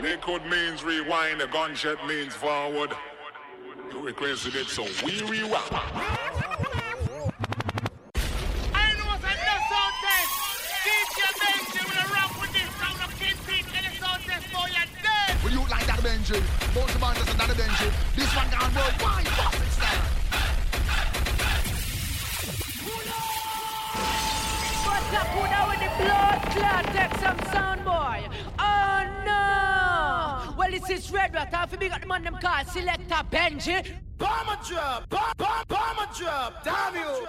Liquid means rewind, a gunshot means forward. You requested it, so we rewind. I know what's another sound test. DJ Benji will rock with this sound of Kingpin and the sound test for your dead. Will you like that Benji? Both the bands and that Benji. This one gone worldwide, fuck it style. What's up, who now with the blood clot? Take some sound, boy. Oh no! Well, this is Red Rat. If you big up the man them called Selector Benji. Bomber drop, bomber drop, damn you.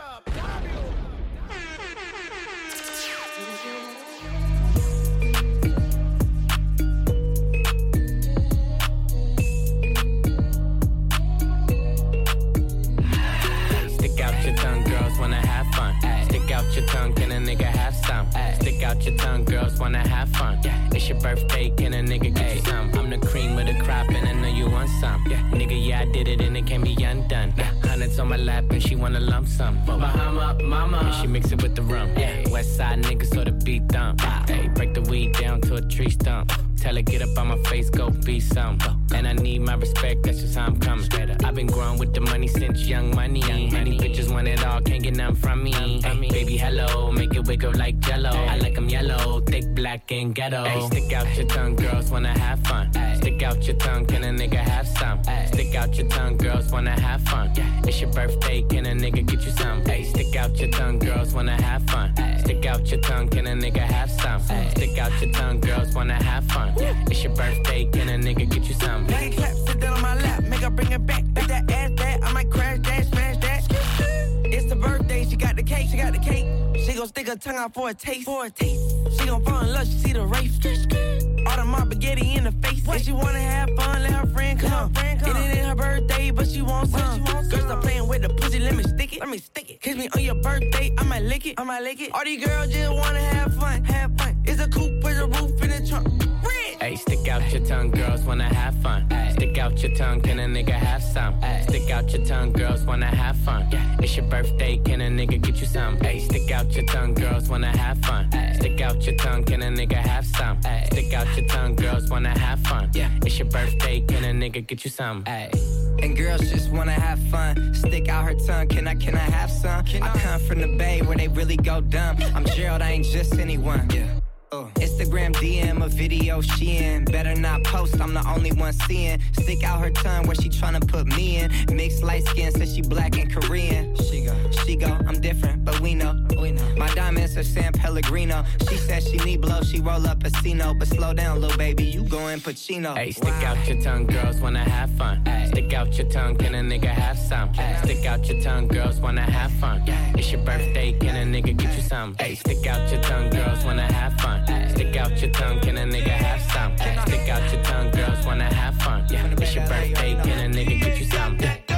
Stick out your tongue, girls wanna have fun. Stick out your tongue, can a nigga have some? Stick out your tongue, girls wanna have fun. It's your birthday, can a nigga get you some? I'm the cream of the crop and I know you want some. Nigga, yeah, I did it and it can't be undone. Hundreds on my lap and she wanna lump some. Bahama, mama, and she mix it with the rum. West side niggas so the beat thump. Hey, break the weed down to a tree stump. Tell her get up on my face, go be some. And I need my respect, that's just how I'm coming. I've been growing with the money since young money. Many bitches want it all, can't get none from me. Hey, baby, hello, make it wiggle like jello. I like them yellow, thick, black, and ghetto. Hey, stick out your tongue, girls wanna have fun. Stick out your tongue, can a nigga have some? Stick out your tongue, girls wanna have fun. It's your birthday, can a nigga get you some? Hey, stick out your tongue, girls wanna have fun. Stick out your tongue, can a nigga have some? Stick out your tongue, girls wanna have fun. It's your birthday, can a nigga get you some? Make it clap, sit down on my lap, make her bring it back. Make that ass back, I might crash that, smash that. It's the birthday, she got the cake, she got the cake. She gon' stick her tongue out for a taste, She gon' fall in love, she see the race. All the my spaghetti in the face. If she wanna have fun, let her friend come. It ain't her birthday, but she wants some. Girls stop playing with the pussy, let me stick it. Kiss me on your birthday, I might lick it. All these girls just wanna have fun. It's a coupe with a roof in the trunk. Hey, stick out your tongue, girls wanna have fun. Stick out your tongue, can a nigga have some? Stick out your tongue, girls wanna have fun. It's your birthday, can a nigga get you some? Hey, stick out your tongue, girls wanna have fun. Stick out your tongue, can a nigga have some? Stick out your tongue, girls wanna have fun. It's your birthday, can a nigga get you some? And girls just wanna have fun. Stick out her tongue, can I have some? I come from the Bay where they really go dumb. I'm Gerald, I ain't just anyone. Instagram DM a video she in. Better not post, I'm the only one seeing. Stick out her tongue where she tryna put me in. Mixed light skin says she black and Korean. She go, I'm different, but we know. My diamonds are San Pellegrino. She said she need blow, she roll up a Casino. But slow down, little baby, you going Pacino. Hey, stick out your tongue, girls wanna have fun. Stick out your tongue, can a nigga have some? Stick out your tongue, girls wanna have fun. It's your birthday, can a nigga get you some? Hey, stick out your tongue, girls wanna have fun. Stick out your tongue, can a nigga have some? Stick out your tongue, girls wanna have fun. It's your birthday, can a nigga get you some?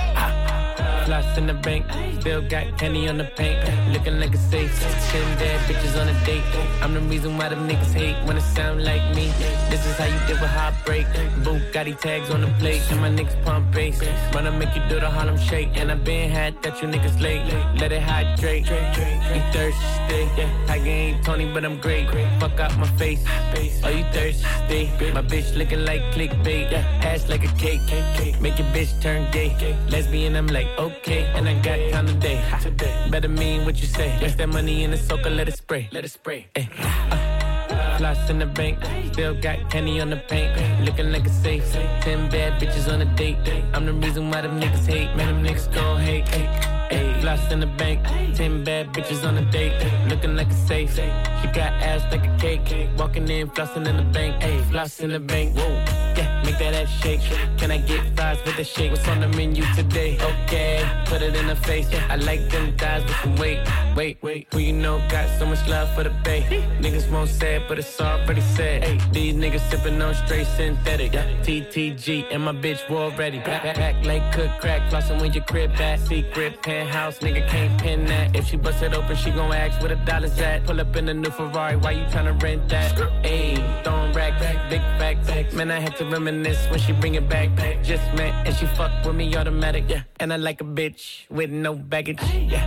Floss in the bank, still got candy on the paint. Looking like a safe, 10 bad bitches on a date. I'm the reason why them niggas hate when it sound like me. This is how you deal with heartbreak. Bugatti tags on the plate, and my niggas pump bass. Wanna make you do the Harlem Shake, and I been had that you niggas late. Let it hydrate, you thirsty. I ain't Tony, but I'm great. Fuck out my face, oh you thirsty. My bitch looking like clickbait, ass like a cake. Make your bitch turn gay. Lesbian, I'm like okay, and I got time today. Better mean what you say. Waste that money in the soaker, let it spray. Ay. Floss in the bank, still got candy on the paint. Looking like a safe, 10 bad bitches on a date. I'm the reason why them niggas hate, man, them niggas gon' hate. Ay, floss in the bank, 10 bad bitches on a date. Looking like a safe, she got ass like a cake. Walking in, flossing in the bank, ayy, floss in the bank, whoa. Yeah, make that ass shake. Can I get fries with the shake? What's on the menu today? Okay, put it in the face. I like them thighs with some weight. Wait, who you know got so much love for the bay? Niggas won't say it, but it's already said. These niggas sipping on straight synthetic. TTG and my bitch war ready. Pack like cook crack, flossing when your crib back. Secret penthouse, nigga can't pin that. If she bust it open, she gon' ask where the dollars at. Pull up in the new Ferrari, why you tryna rent that? Ayy, throwing rack, big facts. Man, I had to reminisce when she bring it back. Just met and she fuck with me automatic, yeah. And I like a bitch with no baggage, yeah.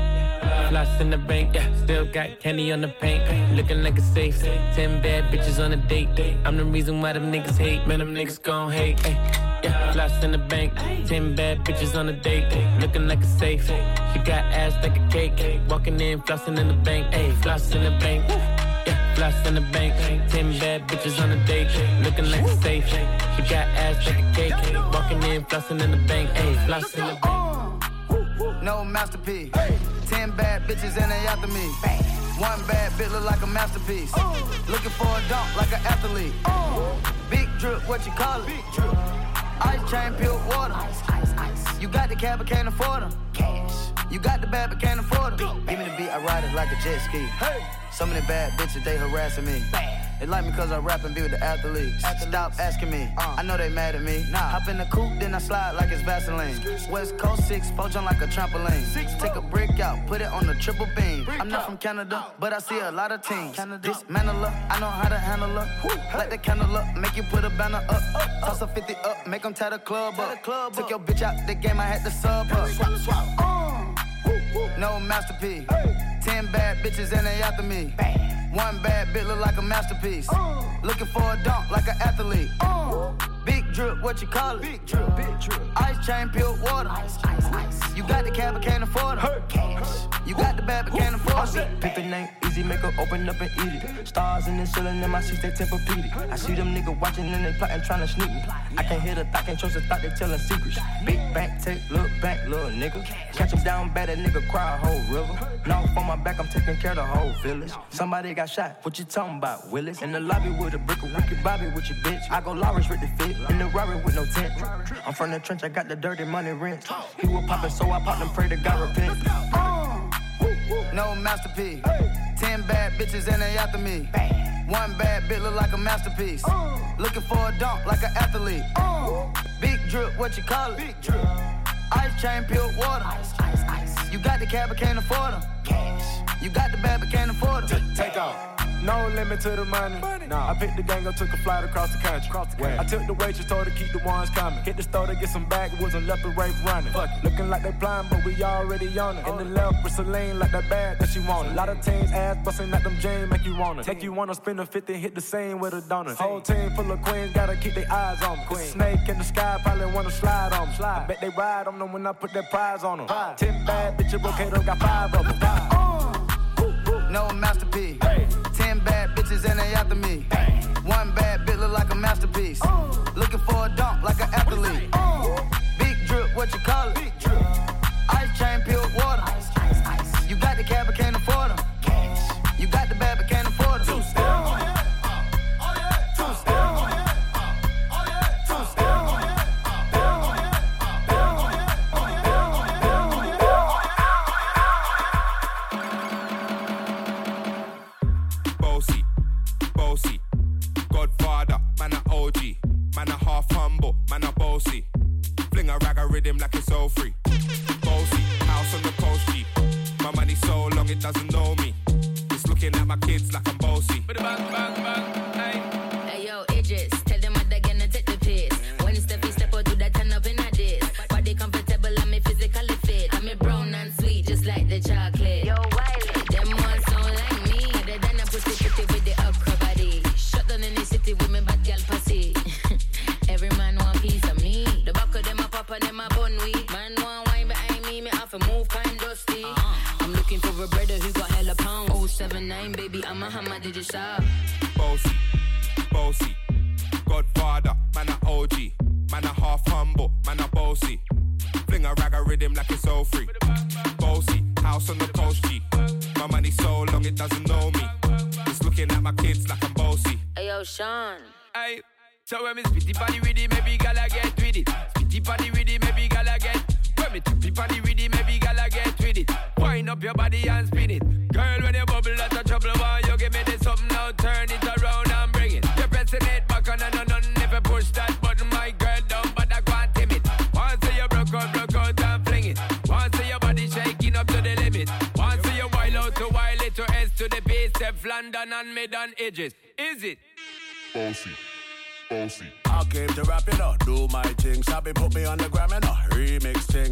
Floss in the bank, yeah. Still got candy on the paint. Looking like a safe. 10 bad bitches on a date. I'm the reason why them niggas hate. Man, them niggas gon' hate. Yeah, floss in the bank. 10 bad bitches on a date. Looking like a safe. She got ass like a cake. Walking in, flossing in the bank. Floss in the bank. Yeah, floss in the bank. 10 bad bitches on a date. Looking like a safe. She got ass like a cake. Walking in, flossing in the bank. Floss in the bank. No masterpiece. 10 bad bitches and they after me. One bad bitch look like a masterpiece. Looking for a dunk like an athlete. Big drip, what you call it? Big drip. Ice chain, pure water. Ice. You got the cab, but can't afford them. Cash. You got the bad, but can't afford them. Give me the beat, I ride it like a jet ski. Hey. Some of the bad bitches, they harassing me. They like me cause I rap and be with the athletes. Stop asking me, I know they mad at me. Hop in the coupe, then I slide like it's Vaseline. West Coast 6, jump like a trampoline. Take a brick out, put it on the triple beam. I'm not from Canada, but I see a lot of teams. Dismantle her, I know how to handle her. Light the candle up, make you put a banner up. Toss a 50 up, make them tie the club up. Took your bitch out the game, I had to sub her. No masterpiece. 10 bad bitches and they after me. One bad bitch look like a masterpiece. Looking for a dunk like an athlete. Big drip, what you call it? Big drip. Ice chain, pure water. Ice. You got the cab, but can't afford it. Cash. You got the bad, but can't afford it. Pick the name, easy, make her open up and eat it. Stars in the ceiling, in my seats, they Tempur-Pedic. I see them niggas watching and they plotting, trying to sneak me. I can't hear the thought, can't trust the thought, they telling secrets. Big bank, take, look back, little nigga. Catch him down bad, that nigga cry a whole river. Now on my back, I'm taking care of the whole village. Somebody got shot, what you talking about, Willis? In the lobby with a brick of wicked Bobby with your bitch. I go Lawrence with the fit, in the Rari with no tent. I'm from the trench, I got the dirty money rent. He was poppin', so I popped and pray to God repent. No masterpiece. 10 bad bitches and they after me. One bad bitch look like a masterpiece. Looking for a dunk like an athlete. Big drip, what you call it? Big drip. Ice chain, pure water. Ice. You got the cab, but can't afford them. Cash. You got the bad, but can't afford them. Take off. No limit to the money. Nah. I picked the gang up, took a flight across the country. I took the waitress, told her to keep the ones coming. Hit the store to get some backwoods and left the rape running. Looking like they blind, but we already on it. In the left with Celine, like that bag that she wanted. A lot of teams ass busting at them jeans, make you wanna. Make you wanna spend a 50, hit the scene with a donut. Whole team full of queens, gotta keep their eyes on them. Snake in the sky, probably wanna slide on them. I bet they ride on them when I put that prize on them. 10 bad bitches, Brocato got 5 of them. No masterpiece. 10 bad bitches and they after me. One bad bitch look like a masterpiece. Looking for a dunk like an athlete. Big drip, what you call it? Big drip. Ice chain, pure water. Ice. You got the cab, but can't afford them. Cash. You got the bad, but can't afford them. Fling a rag a rhythm like it's all free. Bossy, house on the coast G. My money so long it doesn't know me. It's looking at my kids like I'm bossy. Bang, bang, bang, hey. Hey yo, Idris, tell them what they're gonna take the piss. When Steffi step out, do that turn up in a diss. Body comfortable, I'm physically fit. I'm a brown and sweet, just like the chocolate. Yo, Wiley, them ones don't like me. They done a pussy with the upper body. Shut down in the city with me bad girl pussy. Every man want piece of me. The back of them a pop and them a bun weed. Man want wine behind me have to move kind dusty. I'm looking for a brother who got hella pounds. 079, baby, I'm a hammer, did you stop? Bossy, Godfather, man a OG. Man a half humble, man a bossy. Fling a rag a rhythm like it's all free. Bossy, house on the coast G. My money so long it doesn't know me. It's looking at my kids like I'm bossy. Hey yo, Sean. Hey. So when me spitty party with it, maybe gala get with it. Spitty party with it, maybe gala get. When me tippy party with it, maybe gala get with it. Wind up your body and spin it. Girl, when you bubble, that's a trouble. Why you give me this something now? Turn it around and bring it. You're pressing it back on and on. Never push that button, my girl, down, but I can't tame it. Once you broke out and fling it. Once your body shaking up to the limit. Once you wild out to wild it to S to the base, step London and mid on edges. Is it? Bossy. I came to rap it up, do my thing. Sabi put me on the gram and a remix thing.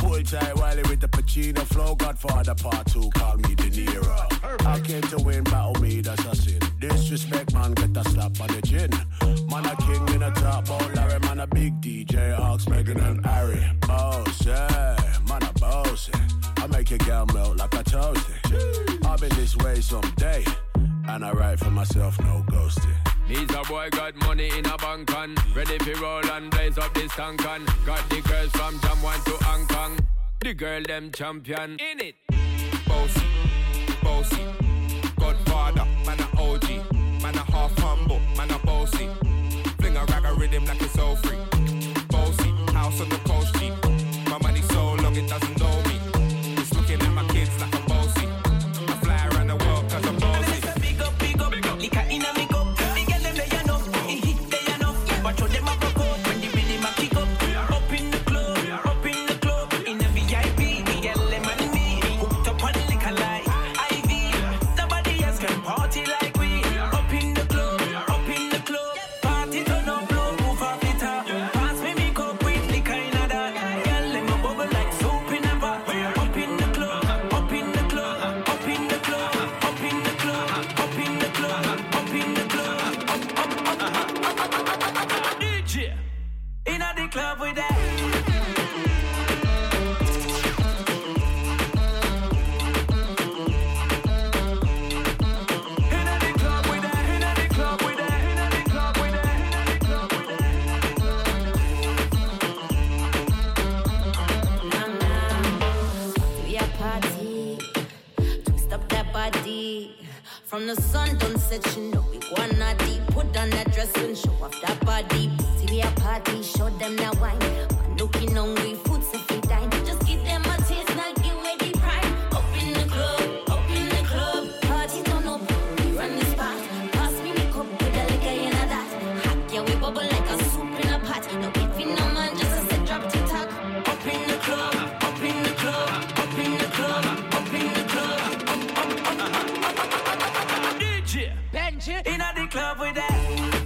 Hold tight, Wiley with the Pacino flow. Godfather part 2, call me De Niro. I came to win, battle me, that's a sin. Disrespect, man, get a slap on the chin. Man a king in a top, oh Larry, man a big DJ, Ox, Megan and Harry. Boss, yeah, man a boss. I make your girl melt like a toasty. I'll be this way someday, and I write for myself, no ghosting. Needs a boy got money in a bank on. Ready for roll and blaze up this tank on. Got the girls from Jam 1 to Hong Kong. The girl them champion in it. Bossy, bossy. Godfather, man a OG. Man a half humble, man a bossy. Fling a rag a rhythm like it's all free. Bossy, house on the coast G. My money so long it doesn't know me. It's looking at my kids like a bossy. I fly around the world cause I'm bossy. Big up, liquor in a me cup. The girl them they enough, it hit they enough. Watch how them a broke out when the rhythm a kick up. Up in the club, in the VIP. The girl them and me, hooked up on liquor like IV. Nobody else can party like we. Up in the club, party turn up, blow, move off the top. Pass me cup with liquor in a that. Girl them a bubble like soap in a pot. Up in the club, up in the club, up in the club, up in the club, up in the club, up in the club, up. DJ in a the club with that. From the sun don't set, you know we wanna deep. Put on that dress and show off that body. See we a party, show them that wine. Man looking hungry, food so free time. Just give them a taste, now give away the prime. Up in the club, party turn up, we run the spot. Pass me the cup with a liquor in a that. Hot yeah, we bubble like a soup in a pot. No giving no man, just a set drop to talk. Up in the club, up in the club, up in the club, up in the club. Benji in a the club with that.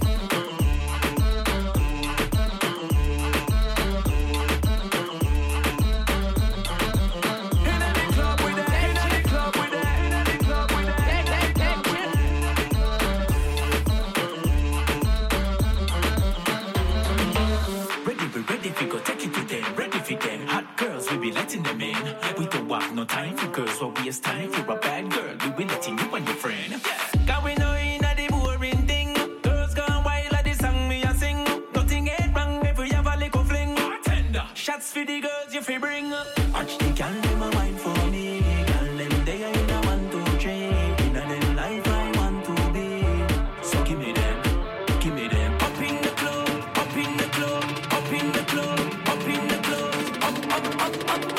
Letting them in. We don't have no time for girls, so we waste time. If you're a bad girl, we will letting you and your friend. Cause we know in a the boring thing. Girls gone wild at the song me a sing. Nothing ain't wrong if we have a little fling. Bartender. Shots for the girls you fi bring. Watch the girl them a wine for me. Girl them they are in a 1, 2, 3. In a them life I want to be. So give me them, give me them. Up in the club, up in the club, up in the club, up in the club, up.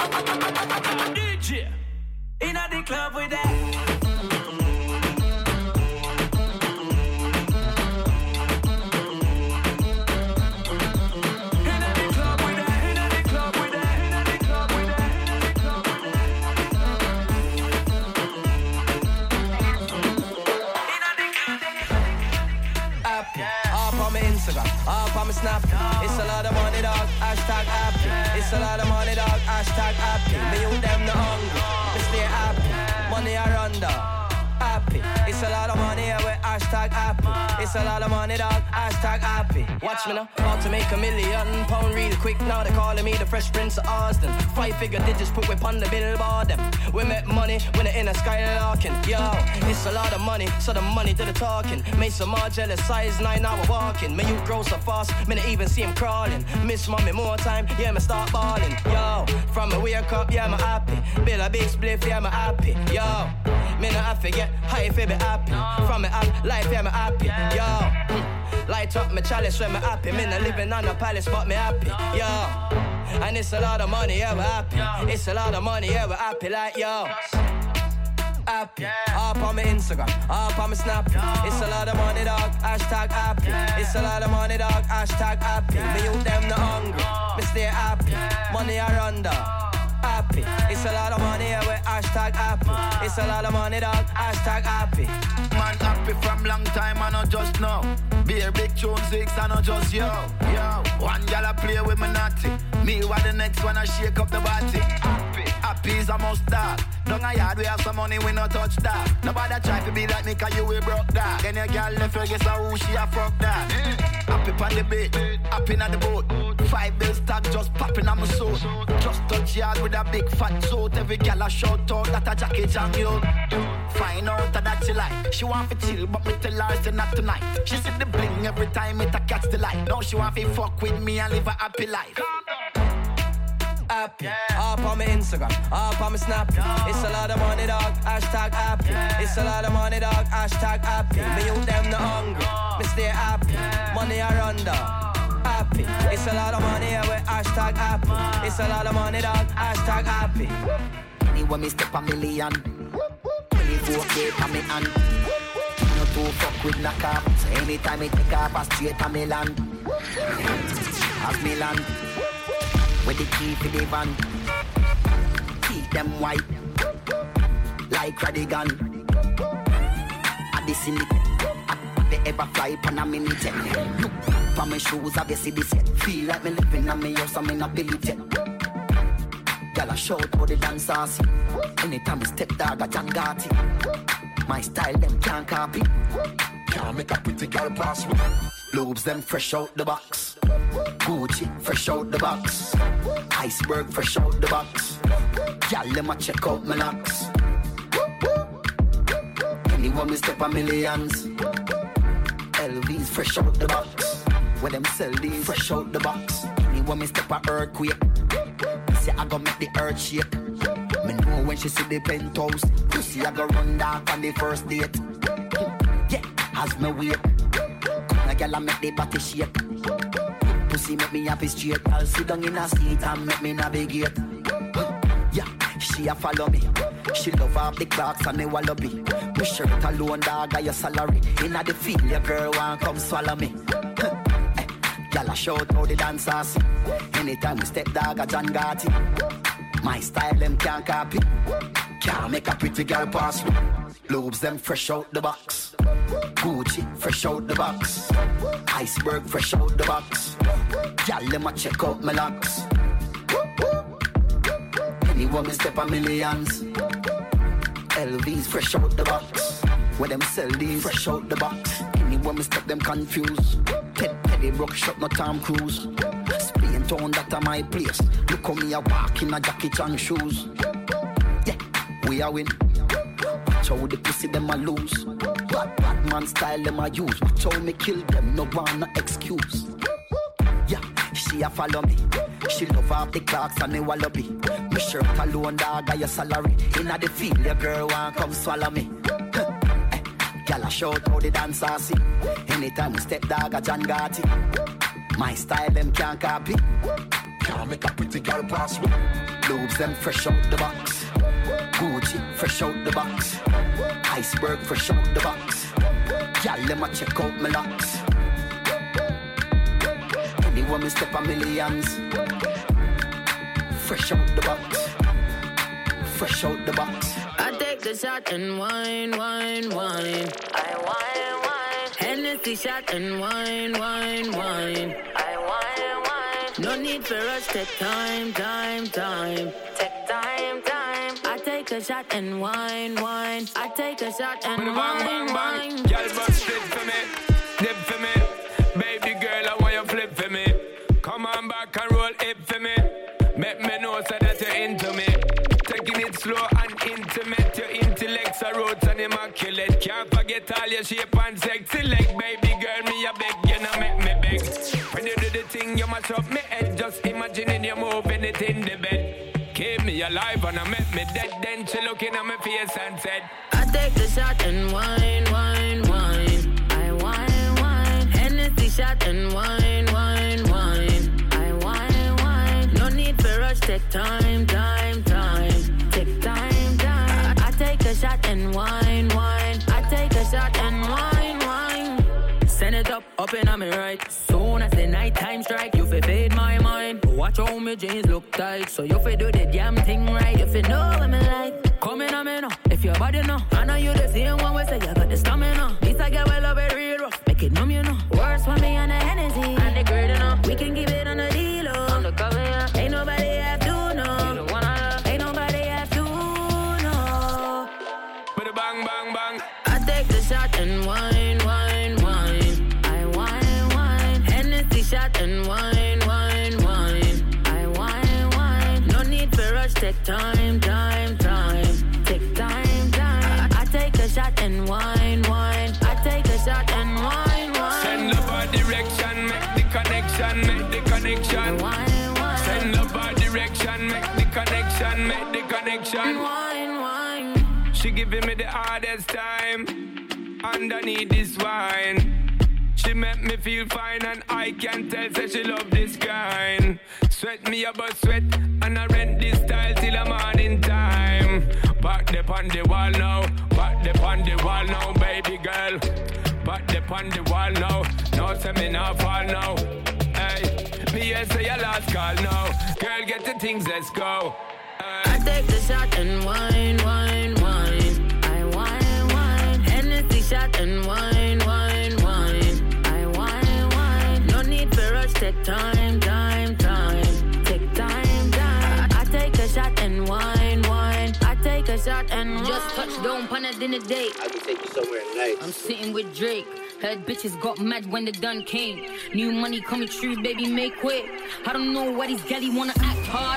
DJ in a the club with that. Up on my snap, it's a lot of money dog, hashtag happy. It's a lot of money dog, hashtag happy. Me you them the hungry, me stay happy. Money I run down, happy. It's a lot of money here with hashtag happy. It's a lot of money dog, hashtag happy. Watch me now, about to make £1 million real quick. Now they calling me the Fresh Prince of Austin. 5-figure digits put whip on the billboard them. We make money when they're in a skylarking. Yo, it's a lot of money, so the money do the talking. Make some more jealous, size 9 hour walking. Me you grow so fast, me not even see him crawling. Miss mommy more time, yeah me start balling. Yo, from me wake up, yeah me happy. Bill a big spliff, yeah me happy. Yo, me not have to get high if I be happy. From me up life, yeah me happy. Yo, light up my chalice when me happy. Me not living on a palace, but me happy. Yo, and it's a lot of money, yeah we happy. It's a lot of money, yeah we happy like yo. Happy, up on my Instagram, up on my Snap. It's a lot of money dog, hashtag happy. It's a lot of money dog, hashtag happy. Me you them the hungry, me stay happy. Money I run down. Happy. It's a lot of money here with hashtag happy. It's a lot of money dog, hashtag happy. Man happy from long time, I not just know. Be a big tune 6, I not just yo. One gal a play with me naughty. Me what the next one I shake up the body. Happy is a must start. Down a yard we have some money, we no touch that. Nobody try to be like me cause you we broke that. Then your girl left her, guess who she a fuck that. Happy on the bed, happy on the boat. 5 bills tag just popping on my soul. Just touch yard with a big fat suit. Every girl a shout out that a jacket on you. Find out that she like. She want to chill but me tell her say not tonight. She see the bling every time it a catch the light. Now she want to fuck with me and live a happy life. Happy, up on my Instagram, up on my Snap. It's a lot of money, dog. Hashtag happy. It's a lot of money, dog. Hashtag happy. Me you them not hungry. Me stay happy. Money I run down. Happy. It's a lot of money here with hashtag happy. It's a lot of money, dog. Hashtag happy. Anyway, me step a million. 24 gate on me hand. No to fuck with knock up. So anytime I take off a straight on me land. As me land. With the key for the van. Keep them white. Like Radigan. At the cynic. They ever fly pan a minute. Look for my shoes, I see this yet. Feel like me living on me house, I'm in a billy jet. Girl, I shout how the dancers. Anytime I step dog, I John Gotti. My style, them can't copy. Can't make a pretty girl pass with. Lobes, them fresh out the box. Gucci, fresh out the box. Iceberg, fresh out the box. Girl, let me check out my locks. Anyone me step a millions. LVs, fresh out the box. Where them sell these, fresh out the box. Anyone me step a earthquake. Say I go make the earth shake. Me know when she see the penthouse. Pussy I go run dark on the first date. Yeah, as me wait. A girl I make the body shake. Pussy make me happy straight. I'll sit down in a seat and make me navigate. Yeah, she a follow me. She love her the clocks and the wallaby. My shirt alone dog got your salary. Inna the field your girl want come swallow me. Girl I shout how the dancers. Anytime we step dog a John Gotti. My style them can't copy. Can't make a pretty girl pass me. Lobes them fresh out the box. Gucci fresh out the box. Iceberg fresh out the box. Girl let me check out my locks. Anyone me step a millions. LVs fresh out the box. Where them sell these fresh out the box. Anyone me step them confused. Teddy Brook shot no Tom Cruise. Spain town that a my place. Look how me a walk in a Jackie Chan shoes. Yeah, we a win. Watch how the pussy them a lose. Bad man style them a use. Watch how me kill them, no one no excuse. Yeah, she a follow me. She love up the clocks and the wallaby. My shirt alone dog got your salary. Inna the field your girl want come swallow me. Girl I shout how the dancers see. Anytime we step dog a John Gotti. My style them can't copy. Can't make a pretty girl pass me. Lobes them fresh out the box. Gucci fresh out the box. Iceberg fresh out the box. Girl let me check out my locks. Anyone me step a millions. Fresh out the box. Fresh out the box. I take the shot and wine, wine, wine. I wine, wine. Hennessy shot and wine, wine, wine. I wine, wine. No need for rush, take time, time, time. Take time, time. I take a shot and wine, wine. I take a shot and wine, wine. Y'all bust flip for me, dip for me. Baby girl, I want you flip for me. Come on back and roll hip for me. Make me know so that you're into me. Taking it slow and intimate. Your intellect's a roots and immaculate. Can't forget all your shape and sexy leg. Baby girl, me a beg, you know make me beg. When you do the thing, you mash up me head. Just imagining you moving it in the bed. Keep me alive and I make me dead. Then she looking at my face and said, I take the shot and wine, wine, wine. I wine, wine. Hennessy shot and wine, wine, wine. I wine, wine. No need for rush, take time, time, time. Take time, time. I take a shot and wine, wine. I take a shot and wine, wine. Send it up in on me right. Soon as the night time strike, you fi fade my mind. Watch how my jeans look tight, so you fi do the damn thing right. You fi know what me like. Come in on me now, if your body know. I know you the same one we say you got the stamina. This I get well love it real rough, make it numb you know. Worse for me on the Hennessy and the grade enough. We can give it on the deal on the cover, yeah. time. Take time. I take a shot and wine. I take a shot and wine. Send up our direction, make the connection. Send up our direction, make the connection. Wine. She giving me the hardest time underneath this wine. She make me feel fine and I can tell say she love this kind. Sweat me about sweat and I rent this style till the morning time. Back the on the wall now, baby girl. Back the on the wall now, no say me not fall now. Hey, me here say your last call now. Girl get the things, let's go. I take the shot and wine. I wine. Hennessy shot and wine. I wine. No need for rush, take time. Take time. I take a shot and wine. I take a shot and just touched down on a dinner date. I can take you somewhere nice. I'm sitting with Drake. Heard bitches got mad when the done came. New money coming true, baby, make way. I don't know why these galley wanna act hard.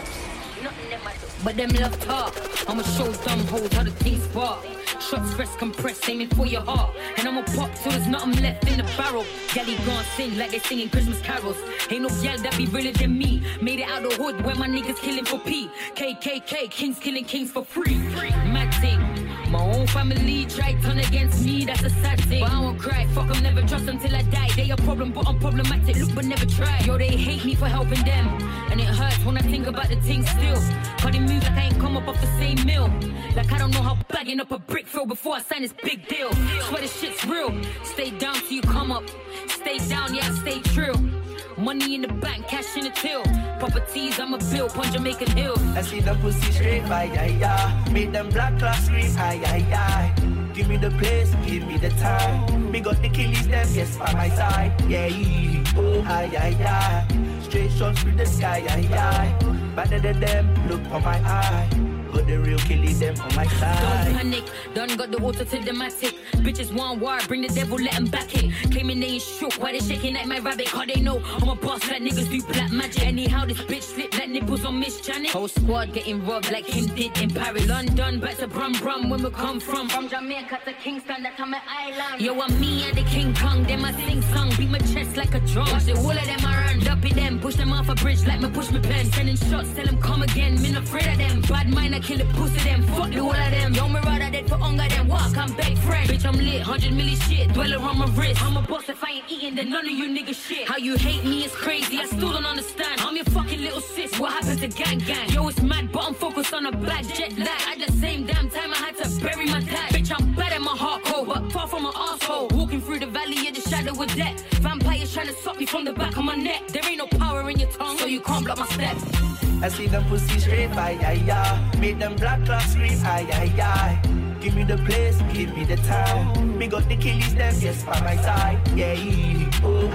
But them love talk. I'ma show dumb hoes how the things spark. Shots press compressed, aiming for your heart. And I'ma pop till there's nothing left in the barrel. Galley gon' sing like they singing Christmas carols. Ain't no gal that be realer than me. Made it out the hood where my niggas killing for P. KKK, kings killing kings for free. Mad thing. My own family tried turn against me, that's a sad thing. But I won't cry, fuck them, never trust them till I die. They a problem, but I'm problematic, look but never try. Yo, they hate me for helping them. And it hurts when I think about the things still. Cause they move like I ain't come up off the same mill. Like I don't know how bagging up a brick feel before I sign this big deal. Swear this shit's real. Stay down till you come up. Stay down, yeah, stay true. Money in the bank, cash in the till. Properties, I'm a bill, on Jamaican Hill. I see the pussy straight, yeah. Make them black clock scream, yeah. Give me the place, give me the time. Me got the killies, them, yes, by my side. Yeah, oh, yeah. Straight shots through the sky, yeah. Better than them, look for my eye. Got the real killies, them on my side. Don't panic, done got the auto to the matic. Bitches want war, bring the devil, let them back it. Claiming they ain't shook, why they shaking like my rabbit? Cause they know I'm a boss, like niggas do black magic. Anyhow, this bitch slip like nipples on Miss Janet. Whole squad getting robbed like him did in Paris. London, back to Brum, when we come from. From Jamaica to Kingston, that's on my island. Yo, I'm me and the King Kong, them I sing song. Beat my chest like a drum. Watch the whole of them I run, dumpy them. Push them off a bridge like me push me pen. Sending shots, tell them come again. Me not afraid of them. Bad mind, I kill the pussy them. Fuck the whole of them. Yo, me rather dead for hunger than walk. I'm big friend. Bitch, I'm lit, 100 milli shit. Dweller on my wrist. I'm a boss if I ain't eating, then none of you niggas shit. How you hate me is crazy, I still don't understand. I'm your fucking little sis, what happened to gang? Yo, it's mad, but I'm focused on a bad jet lag. At the same damn time, I had to bury my dad. Bitch, I'm bad at my heart cold, but far from my asshole. Walking through the valley of the shadow of death. Vampires trying to stop me from the back of my neck. There ain't no power in your tongue, so you can't block my steps. I see them pussy straight, yeah. Make them black clock scream, yeah. Give me the place, give me the time. Me got the killies, them, yes, by my side. Yeah, oh,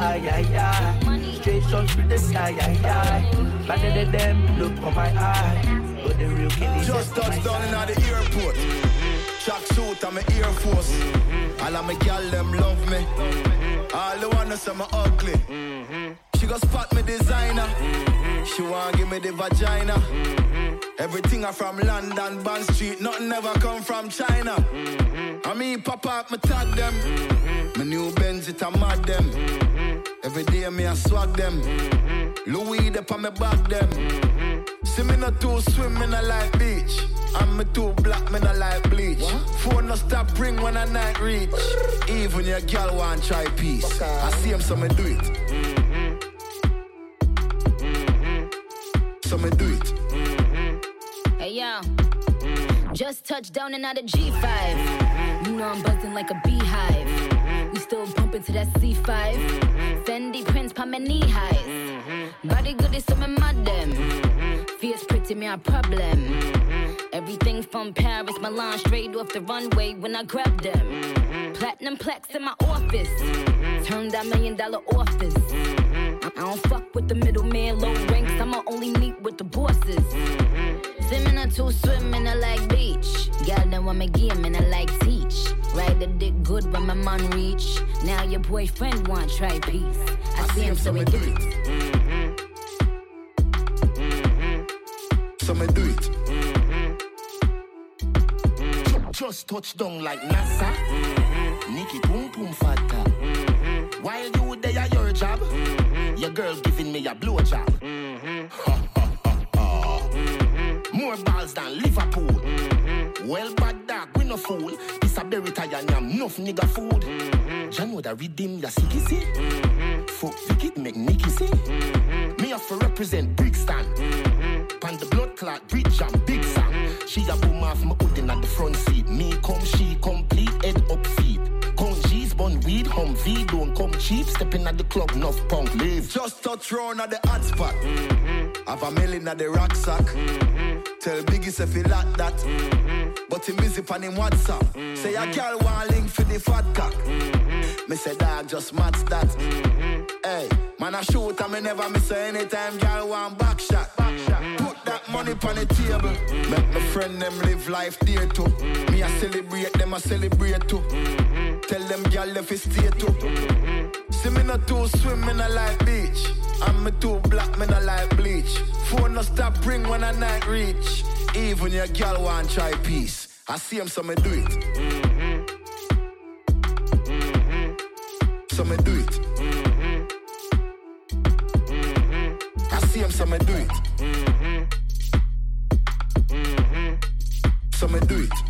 yeah. Straight shots through the sky, yeah. Better than them, look for my eye. Got the real killies. Just touched down in the airport. Track suit, I'm an Air Force. All of my gal, them love me. All the ones say I'm ugly. She gon' spot me designer. She wanna give me the vagina. Everything I from London, Bond Street. Nothing ever come from China. I mean, pop up, me tag them. My new Benz, it a mad them. Every day me I swag them. Louis, they on me back them. See me not too swim, me not like beach. And me too black, me not like bleach. Phone no stop ring when I night reach. Even your girl want try peace. I see him, so me do it. So me do it. Hey yo, just touched down and out of G5. You know I'm buzzing like a beehive. We still bumping to that C5. Fendi prints pa my knee highs. Body good is some mad them. Fierce pretty me a problem. Everything from Paris, Milan, straight off the runway when I grab them. Platinum plaques in my office. Turned that $1 million office. I don't fuck with the middleman, low ranks. I'ma only meet with the bosses. Swimming or two, swimming I like beach. Girl, then want me game and I like teach. Ride the dick good when my man reach. Now your boyfriend want try peace. I see him, so we do it. So me do it. just touch down like NASA. Nikki Pum Pum Fata. While you there at your job, your girl giving me a blowjob. More balls than Liverpool. Well, bad dog, we no fool. This a berry tie and yam, enough nigga food. Jan would a redeem ya see. Fuck Vicky, make Nicky see. Me have to represent Brixton. Pan the blood clot, bridge and big song. She a boom off my hoodin at the front seat. Me come, she complete, head up feet. Count G's, bun weed, Humvee, don't come cheap. Stepping at the club, enough punk, leave. Just touch round at the hot spot. Have a million at the rucksack. Tell Biggie if he like that. But he busy on him WhatsApp. Say a girl want link for the fat cock. Me say dog just match that. Hey, man I shoot and me never miss anytime girl want back shot. Put that money on the table. Make my friend them live life there too. Me I celebrate them, I celebrate too. Tell them girl if it stay too. See me not too swim, me not like beach. And me too black, me not like bleach. Phone no stop ring when I night reach. Even your girl want try peace. I see him, so me do it. So me do it. I see him, so me do it. So me do it.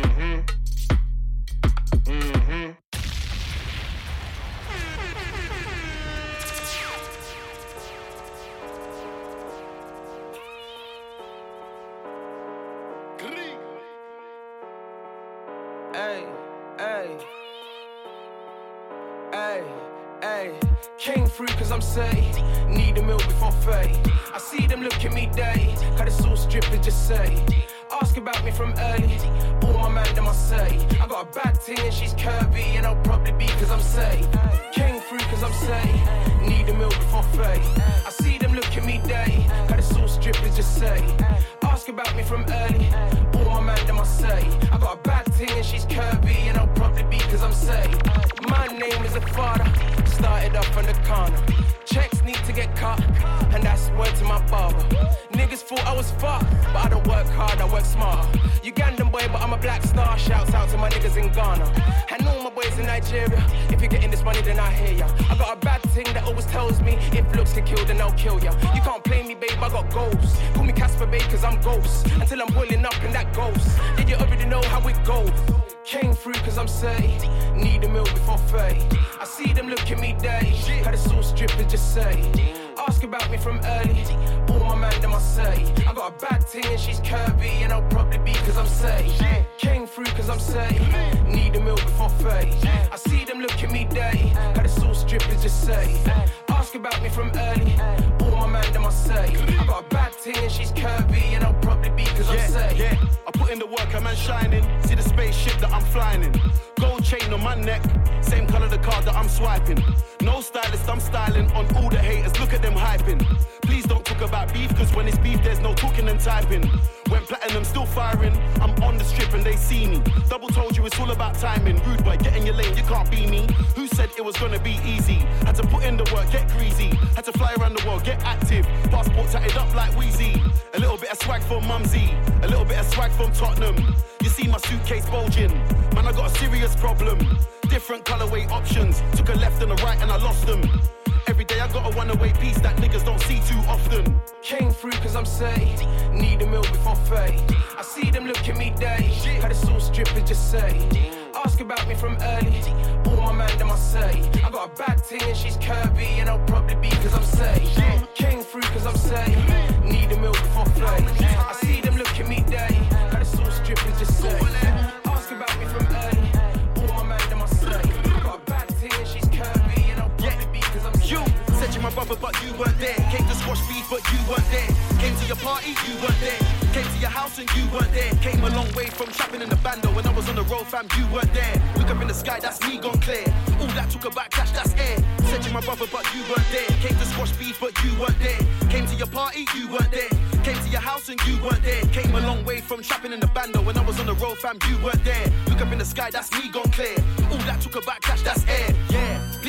Came through cause I'm saved. Need a meal before fade. I see them look at me day. Cut the sauce dripping, just say. Ask about me from early. All my man them I say. I got a bad thing and she's curvy. And I'll probably be cause I'm saved. Came through cause I'm saved. Need a meal before fade. I see them look at me day. Cut the sauce dripping, just say. Ask about me from early. All my man them I say. I got a bad thing and she's curvy. And I'll probably be cause I'm saved. My name is a father. Started up on the corner. Checks need to get cut, and that's word to my barber. Niggas thought I was fucked, but I don't work hard, I work smarter. Ugandan boy, but I'm a black star. Shouts out to my niggas in Ghana. And all my boys in Nigeria. If you're getting this money, then I hear ya. I got a bad thing that always tells me if looks can kill, then I'll kill ya. You can't play me, babe, I got goals. Call me Casper, babe, cause I'm ghost. Until I'm boiling up in that ghost. Did you already know how it goes? Came through cause I'm saved. Need a meal before fade. I see them look at me day. Had a sauce dripping, just say. Ask about me from early. All my man them I say. I got a bad thing and she's curvy. And I'll probably be cause I'm saved. Came through cause I'm saved. Need a meal before fade. I see them look at me day. Had a sauce dripping, just say. Ask about me from early. All my man them I say. I got a bad thing and she's curvy. And I'll probably be cause I'm saved. I put in the work, a man shining. See the spaceship that I'm flying in. Gold chain on my neck. Same color the card that I'm swiping. No stylist, I'm styling on all the haters. Look at them hyping. Please don't talk about beef, cause when it's beef, there's no talking and typing. Went platinum, still firing. I'm on the strip and they see me. Double told you it's all about timing. Rude boy, get in your lane, you can't be me. Who said it was gonna be easy? Had to put in the work, get greasy. Had to fly around the world, get active. Passport tatted up like Wheezy. A little bit of swag from Mumsy. A little bit of swag from Tottenham. You see my suitcase bulging. Man, I got a serious problem. Different colorway options. Took a left and a right and I lost them. Every day I got a one-away piece that niggas don't see too often. Came through cause I'm saved. Need a meal before fade. I see them look at me day. Had a sauce dripping, just say. Ask about me from early. All my man them I say. I got a bad thing and she's curvy. And I'll probably be cause I'm saved. Came through cause I'm saved. Need a meal before fade. I see them look at me day. Had a sauce dripping, just say. Ask about me from early. All my man them I say. I got a bad thing and she's curvy. And I'll probably be cause I'm saved. You said you're my brother but you weren't there. Came to squash beef but you weren't there. Came to your party, you weren't there. Came to your house and you weren't there. Came a long way from trapping in the bando. When I was on the road, fam, you weren't there. Look up in the sky, that's me gone clear. All that talk about cash, that's air. Said you're my brother but you weren't there. Came to squash beef but you weren't there. Came to your party, you weren't there. Came to your house and you weren't there. Came a long way from trapping in the bando. When I was on the road, fam, you weren't there. Look up in the sky, that's me gone clear. All that talk about cash, that's air. Yeah, please don't talk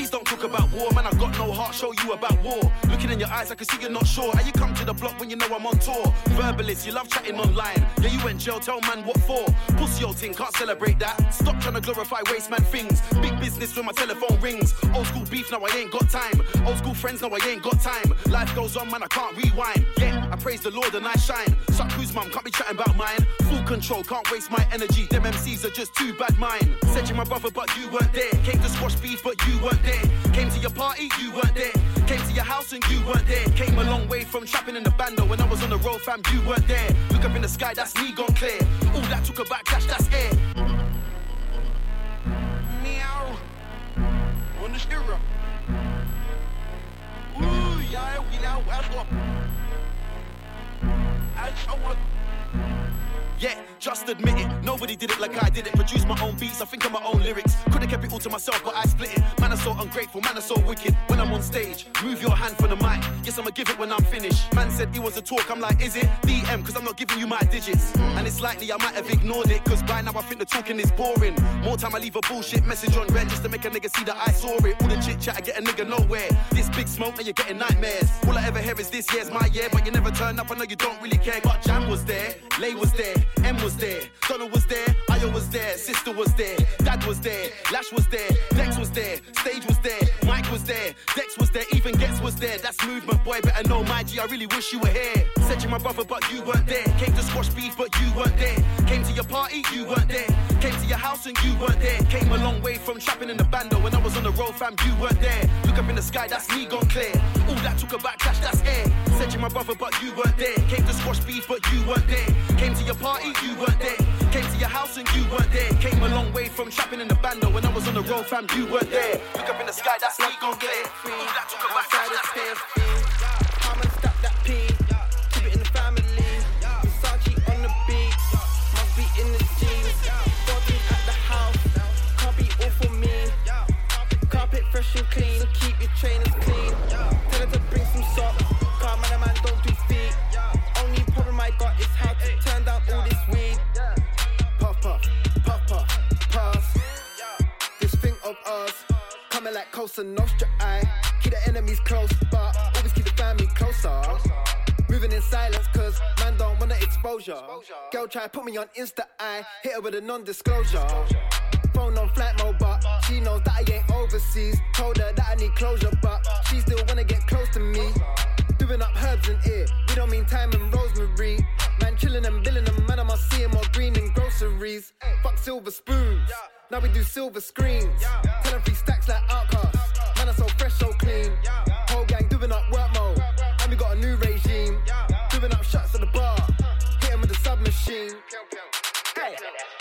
about war, man, I got no heart, show you about war. Looking in your eyes, I can see you're not sure. How you come to the block when you know I'm on tour? Verbalist, you love chatting online. Yeah, you went jail, tell man what for. Pussy old thing, can't celebrate that. Stop trying to glorify waste man things. Big business when my telephone rings. Old school beef, now I ain't got time. Old school friends, now I ain't got time. Life goes on, man, I can't rewind. Yeah, I praise the Lord and I shine. Suck who's mum, can't be chatting about mine. Full control, can't waste my energy. Them MCs are just too bad mine. Said you're my brother, but you weren't there. Came to squash beef, but you weren't there. Came to your party, you weren't there. Came to your house and you weren't there. Came a long way from trapping in the bando. When I was on the road, fam, you weren't there. Look up in the sky, that's me gone clear. All that took a backlash, that's air. Meow. On the steerer. Ooh, yeah, we now welcome. I show up. Yeah, just admit it. Nobody did it like I did it. Produced my own beats, I think of my own lyrics. Could've kept it all to myself, but I split it. Man, I'm so ungrateful, man, I'm so wicked. When I'm on stage, move your hand for the mic. Yes, I'ma give it when I'm finished. Man said he wants to talk, I'm like, is it? DM, cause I'm not giving you my digits. And it's likely I might have ignored it, cause by now I think the talking is boring. More time I leave a bullshit message on red just to make a nigga see that I saw it. All the chit chat, I get a nigga nowhere. This big smoke, now you're getting nightmares. All I ever hear is this year's my year, but you never turn up, I know you don't really care. But Jam was there, Lay was there, M was there, Donna was there, Ayo was there, Sister was there, Dad was there, Lash was there, Dex was there, Stage was there, Mike was there, Dex was there, even Gets was there. That's movement, boy, better know my G, I really wish you were here. Said you're my brother, but you weren't there. Came to squash beef, but you weren't there. Came to your party, you weren't there. Came to your house and you weren't there. Came a long way from trapping in the bando. When I was on the road, fam, you weren't there. Look up in the sky, that's me gone clear. All that took a backlash, that's air. Said you're my brother, but you weren't there. Came to squash beef, but you weren't there. Came to your party, you weren't there. Came to your house and you weren't there. Came a long way from trapping in the bando. When I was on the road, fam, you weren't there. Look up in the sky, that's me gone clear. All that took a backlash, that's air. Come and stop that P. Keep it in the family. Versace on the beat. Must be in the jeans. 14 at the house. Can't be all for me. Carpet fresh and clean. So keep your trainers clean. Tell her to bring some socks. Car man don't do feet. Only problem I got is how to turn down all this weed. Puff puff, puff puff, pass. This thing of ours. Coming like Cosa Nostra, I keep the enemies close, but always keep the family closer. Moving in silence, cause man don't want the exposure. Girl try put me on Insta, I hit her with a non-disclosure. Phone on flight mode, but she knows that I ain't overseas. Told her that I need closure, but she still wanna get close to me. Doing up herbs in ear, we don't mean thyme and rosemary. Man chilling and billing them, man I must see him more green in groceries. Fuck silver spoons, now we do silver screens. Tell them 3 stacks like Outcast, man I so fresh, so clean. Whole gang doing up work mode, and we got a new regime. Doing up shots at the bar, hit him with the submachine. Hey,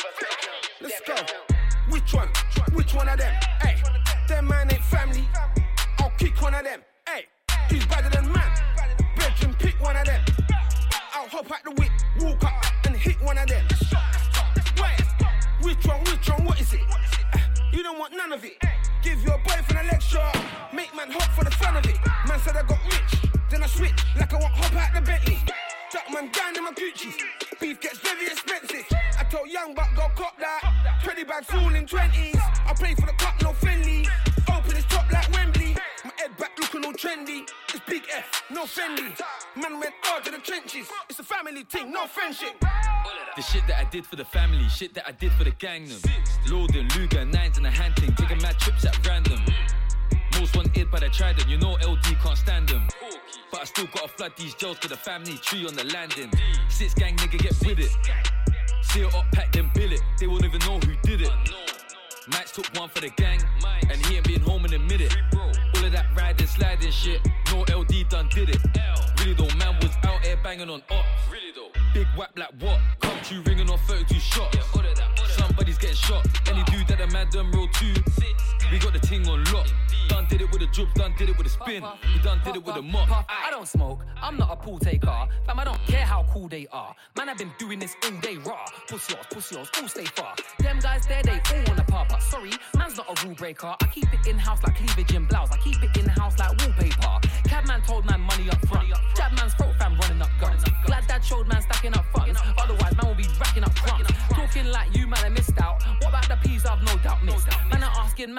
let's go. Which one? Which one of them? Hey, them man ain't family. I'll kick one of them. Hey, he's better than man. Bedroom, pick one of them. I'll hop out the whip, walk up and hit one of them. Wait, which one, what is it? You don't want none of it. Give your boyfriend a lecture, make man hop for the fun of it. Man said I got rich, then I switch like I want hop out the Bentley. Duck man down in my Gucci, beef gets very expensive. I told young buck go cop that, 20 bags full in 20s. I play for the cup, no friendly. Open his top like Wembley. My head back looking all trendy. It's big F, no Fendi. Man went hard to the trenches. It's a family thing, no friendship. The shit that I did for the family, shit that I did for the gang them. Loading, Luger, 9s and a hand thing, taking mad trips at random. Most wanted but I tried them, you know LD can't stand them. But I still gotta flood these jails for the family tree on the landing. 6 gang nigga get with it. See it up, pack them bill it. They won't even know who did it. Max took one for the gang, and he ain't been home in a minute. All of that riding, sliding shit, no LD done did it. Really though, man was out here banging on ops. Really though, big whack like what? Come to ringing on 32 shots. Somebody's getting shot. Any dude that a man done roll too. We got the ting on lock. Done did it with a drip, done did it with a spin. We done did it with a mop. I don't smoke, I'm not a pool taker. Fam, I don't care how cool they are. Man, I've been doing this all day raw. Pussy yours, all stay far. Them guys there, they all wanna pop. But sorry, man's not a rule breaker. I keep it in-house like cleavage in blouse. I keep it in-house like wallpaper. Cabman told man money up front. Jab man's throat fam running up guns. Glad dad showed man stacking up funds. Otherwise, man will be racking up crumbs. Talking like you, man, I missed out. What about the peas I've no doubt missed? Man, I'm asking man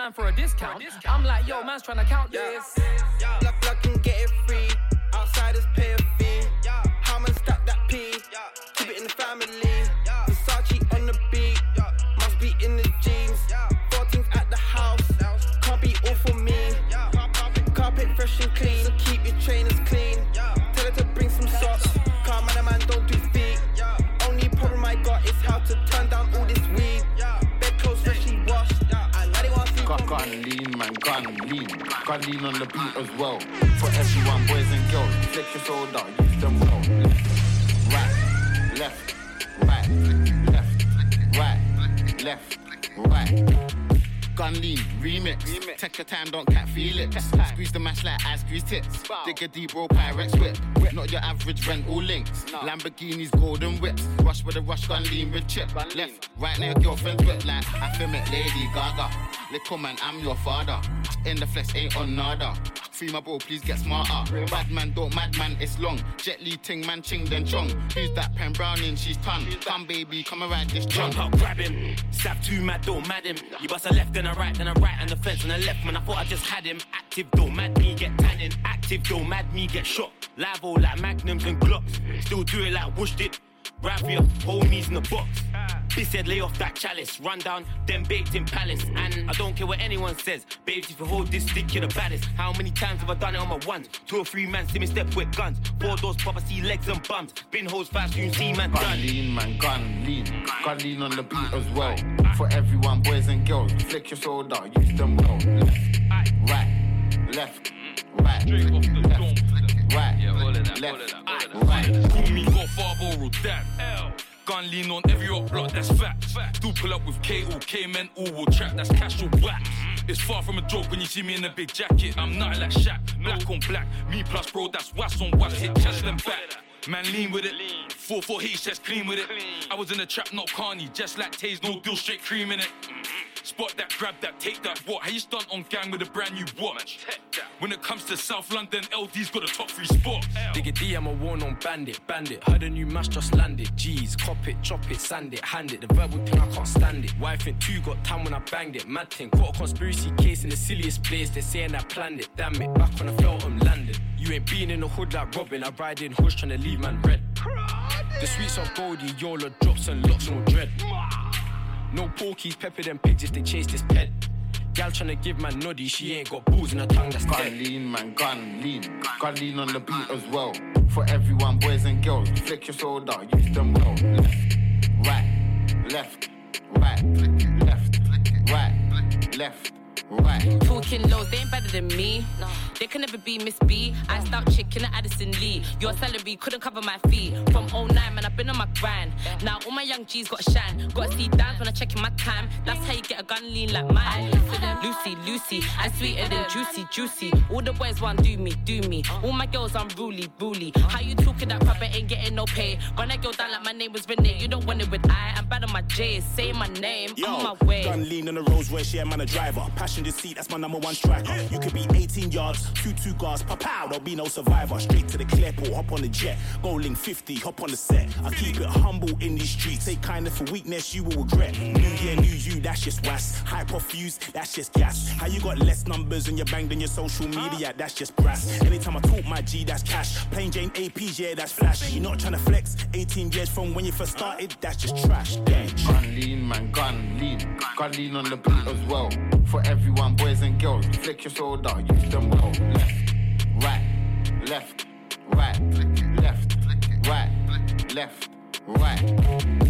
man for a discount. I'm like, yo, man's trying to count this. Luck and get it free. Outsiders pay a fee. How man stack that P? Keep it in the family. Versace on the beat. Must be in the jeans. 14th at the house. Can't be all for me. Carpet fresh and clean. So keep your trainers clean. Tell her to bring some socks. Can't man don't do feet. Only problem I got is how to turn down all this weed. Bedclothes freshly washed. Gun lean, man, gun lean. Gun lean on the beat as well. For everyone, boys and girls, flick your soda, use them well. Left, right, left, right. Gun lean, remix. Take your time, don't cat feel it. Squeeze the mash like I squeeze tits. Dig a deep roll Pyrex whip. Not your average rental links. Lamborghinis, golden whips. Rush with a rush, gun lean with chip. Left, right now, girlfriend's whip like I film it, Lady Gaga. Little man, I'm your father. In the flesh, ain't on nada. Free my bro, please get smarter. Bad man, don't madman, it's long. Jet Li ting man, ching then chong. Who's that pen browning? She's ton. Come baby, come around this chong. Jump up, grab him. Stab too mad, don't mad him. You bust a left, then a right, and the fence on the left. Man, I thought I just had him. Active, don't mad me, get tanning. Active, don't mad me, get shot. Live all like Magnums and Glocks. Still do it like Whoosh did. Right for your homies in the box. Bitch said lay off that chalice. Run down, then baked in palace. And I don't care what anyone says. Babes, if you hold this stick, you're the baddest. How many times have I done it on my ones? 2 or 3 man see me step with guns. 4 doors pop, I see legs and bums. Bin hoes fast, you see man done. Gun lean, man, gun lean. Gun lean on the beat as well. For everyone, boys and girls, flick your soda, use them well. Left, right, right. Call me Godfather or Dad. Gun lean on every up block, that's facts. Do pull up with K.O. K-men, all will trap, that's cash or wax. It's far from a joke when you see me in a big jacket. I'm nothing like Shaq, black on black. Me plus bro, that's wax on wax, hit chest and back. Man lean with it, 4-4 heat chest clean with it. I was in the trap, not Carney, just like Taze, no deal, straight cream in it. Spot that, grab that, take that, what? How you stunt on gang with a brand new watch? When it comes to South London, LD's got a top 3 spots. Digga D, I'm a worn-on bandit. Heard a new mash just landed. G's, cop it, chop it, sand it, hand it. The verbal thing, I can't stand it. Wife and 2 got time when I banged it. Mad thing, got a conspiracy case in the silliest place. They're saying I planned it. Damn it, back when I felt I'm landed. You ain't been in the hood like Robin. I ride in hoods trying to leave man red. The sweets are Goldie, Yola drops and locks, no dread. No porkies, pepper them pigs if they chase this pet. Gal tryna give man noddy, she ain't got balls in her tongue, that's dead. Gun lean, man, gun lean. Gun lean on the beat as well. For everyone, boys and girls, flick your soda, use them well. Left, right. Talking lows, they ain't better than me. No. They can never be Miss B. I start chicken at Addison Lee. Your salary couldn't cover my fee. From 09, man, I've been on my grind. Now all my young G's got shine. Gotta see dance when I check in my time. That's how you get a gun lean like mine. Lucy, I'm sweeter than juicy. All the boys want do me. All my girls unruly. How you talking that crap, ain't getting no pay. When I go down like my name was Renee. You don't want it with I'm bad on my J. Say my name, I'm on my way. Gun lean on the Rolls Royce, yeah, man, a driver. Passenger seat, that's my number 1 striker. You could be 18 yards, 2 guards, pow, there'll be no survivor. Straight to the Clearport, hop on the jet. Go link 50, hop on the set. I keep it humble in these streets. Take kindness for weakness, you will regret. New year, new you, that's just was. Hype or fuse, that's just gas. How you got less numbers and you're banged in your social media, that's just brass. Anytime I talk my G, that's cash. Plain Jane APs, yeah, that's flash. You're not trying to flex. 18 years from when you first started, that's just trash. Gun lean, man, gun lean. Gun lean on the beat as well. For everyone, boys and girls, flick your soda, use them well. Left, right.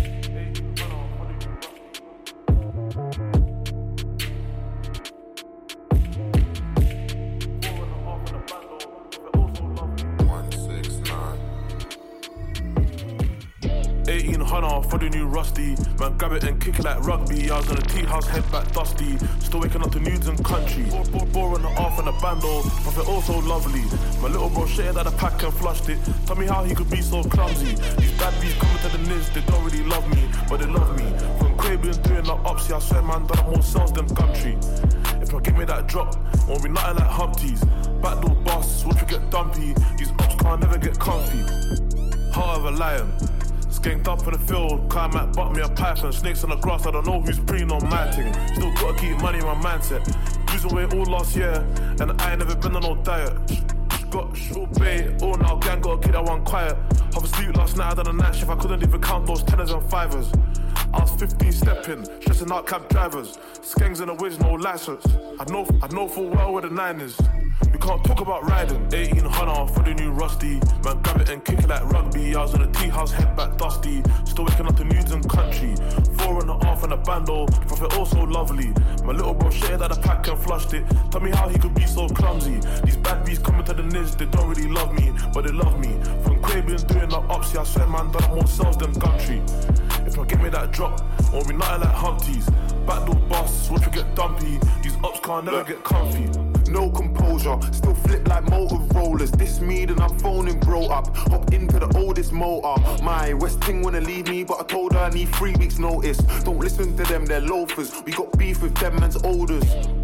For the new Rusty, man, grab it and kick it like rugby. I was in a tea house, head back dusty. Still waking up to nudes and country. Bore on the off and the bando, but they're all so lovely. My little bro shared out the pack and flushed it. Tell me how he could be so clumsy. These bad bees coming to the nids, they don't really love me, but they love me. From Quaby and doing the ups, yeah, I swear, man, done up more sales than country. If I give me that drop, won't be nothing like Humpties. Backdoor boss, watch you get dumpy. These ops can't never get comfy. Heart of a lion. Skanked up in the field, climb at butt me a python. Snakes on the grass, I don't know who's preying on my thing. Still gotta keep money in my mindset. losing weight all last year, and I ain't never been on no diet. Got short bait, all now gang got a kid that want quiet. Half asleep last night, I done a night shift, I couldn't even count those tenors and fivers. I was 15 stepping, stressing out cab drivers. Skangs in the whiz, no license. I know full well where the 9 is. We can't talk about riding. 1800 for the new Rusty. Man, grab it and kick it like rugby. I was in a tea house, head back dusty. Still waking up to news and country. 4.5 and a bando. The prophet also lovely. My little bro shared out the pack and flushed it. Tell me how he could be so clumsy. These bad bees coming to the niz, they don't really love me, but they love me. From Quabians doing the upsy, I swear man, done more sales than Gumtree. If I give me that drop, won't be nothing like Humpties. Backdoor boss, watch we get dumpy. These ups can't never get comfy. No composure, still flip like Motorollas. This me, then I'm phoning bro up. Hop into the oldest motor. My West Ting wanna leave me, but I told her I need 3 weeks notice. Don't listen to them, they're loafers. We got beef with them man's olders.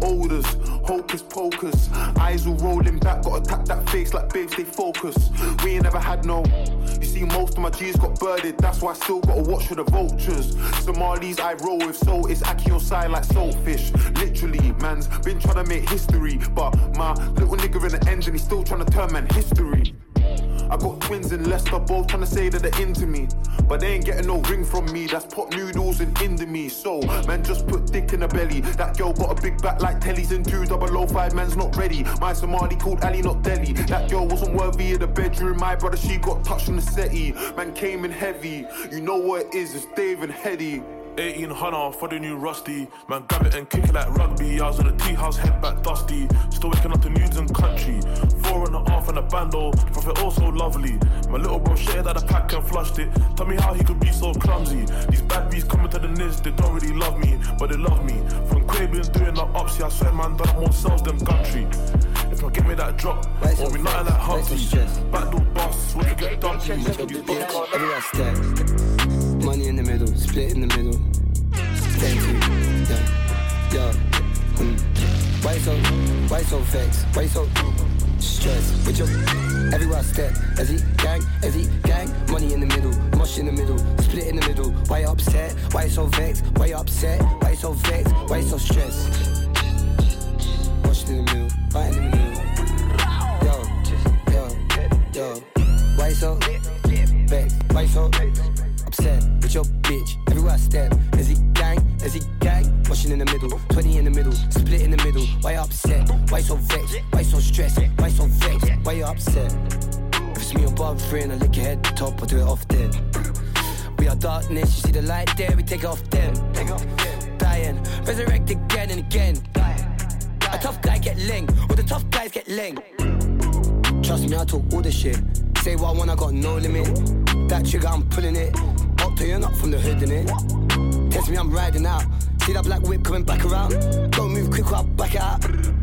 Hocus pocus. Eyes all rolling back, gotta tap that face like babe, stay focused. We ain't never had no. You see, most of my G's got birded, that's why I still gotta watch for the vultures. Somalis I roll with, so it's Aki on side like saltfish. Literally, man's been trying to make history, but my little nigga in the ends and he's still trying to turn man history. I got twins in Leicester, both trying to say that they're into me, but they ain't getting no ring from me. That's pot noodles and Indomie. So, man, just put dick in the belly. That girl got a big back like Telly's in 2005, man's not ready. My Somali called Ali, not Delhi. That girl wasn't worthy of the bedroom. My brother, she got touched on the settee. Man came in heavy. You know what it is, it's Dave and Hetty. 1800 for the new Rusty. Man, grab it and kick it like rugby. I was in a tea house, head back dusty. Still waking up to news and country. 4.5 and a bando. The prophet also lovely. My little bro shared out the pack and flushed it. Tell me how he could be so clumsy. These bad bees coming to the niz, they don't really love me, but they love me. From Quabians doing the upsy, I swear man, done more sales than Gumtree. If I give me that drop, won't be nothing like Humpties. Backdoor boss, what you get dumpy. Everywhere I step. Money in the middle, split in the middle. Thank you, yo. Why you so vexed? Why you so stressed? With your everywhere I step, as he gang, money in the middle, mush in the middle, split in the middle. Why you upset? Why you so vexed? Why you upset? Why you so vexed? Why you so stressed? Mush in the middle, right in the middle. Yo. Why you so vexed? Why you so upset with your bitch? Everywhere I step, as he gang, washing in the middle, 20 in the middle, split in the middle. Why you upset? Why you so vexed? Why you so stressed? Why you so vexed? Why you upset? If it's me above three and I lick your head top, I do it off then. We are darkness, you see the light there, we take it off then. Dying, resurrect again and again. A tough guy get ling, or the tough guys get ling. Trust me, I talk all the shit. Say what I want, I got no limit. That trigger, I'm pulling it. Up to you, not from the hood, innit? Test me, I'm riding out. See that black whip coming back around. Don't move quick or I'll back it out.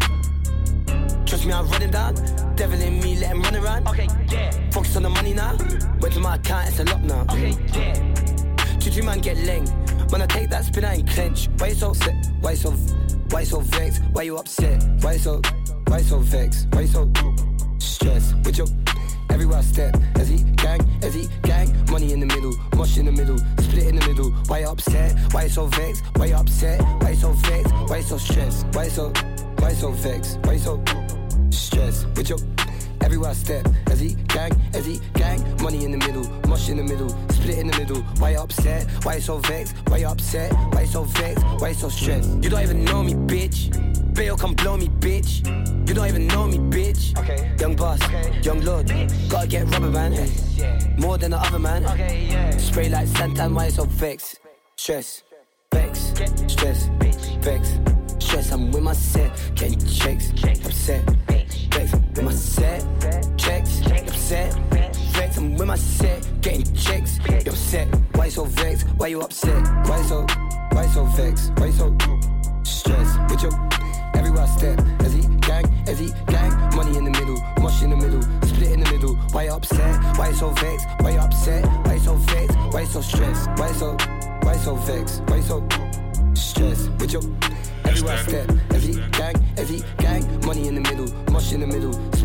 Trust me, I'm running down. Devil in me, let him run around. Okay, yeah. Focus on the money now. Went to my account, it's a lot now. Okay, yeah. Choo man get leng. When I take that spin, I ain't clench. Why you so upset? Why you so vexed? Why you upset? Why you so vexed? Why you so stressed? With your everywhere I step, as he gang, money in the middle, mush in the middle, split in the middle. Why you upset? Why you so vexed? Why you upset? Why you so vexed? Why you so stressed? Why you so vexed? Why you so stressed? With your everywhere I step, as he gang, money in the middle, mush in the middle, split in the middle. Why you upset? Why you so vexed? Why you upset? Why you so vexed? Why you so stressed? You don't even know me, bitch. Bail come blow me, bitch. You don't even know me, bitch. Okay. Young boss, young lord, gotta get rubber, man. More than the other man. Spray like Santan, why you so vexed? Stress, vex, stress, vex, stress. I'm with my set, getting checks, upset, vex. With my set, checks, upset, vex. I'm with my set, getting checks, upset. Why you so vexed? Why you upset? Why you so vexed? Why you so stressed? With your everywhere I step, as he gang, money in the middle, mush in the middle, split in the middle. Why you upset? Why you so vexed? Why you upset? Why you so vexed? Why you so stressed? Why you so vexed? Why you so stressed? With your everywhere I step, as he gang, money in the middle, mush in the middle, split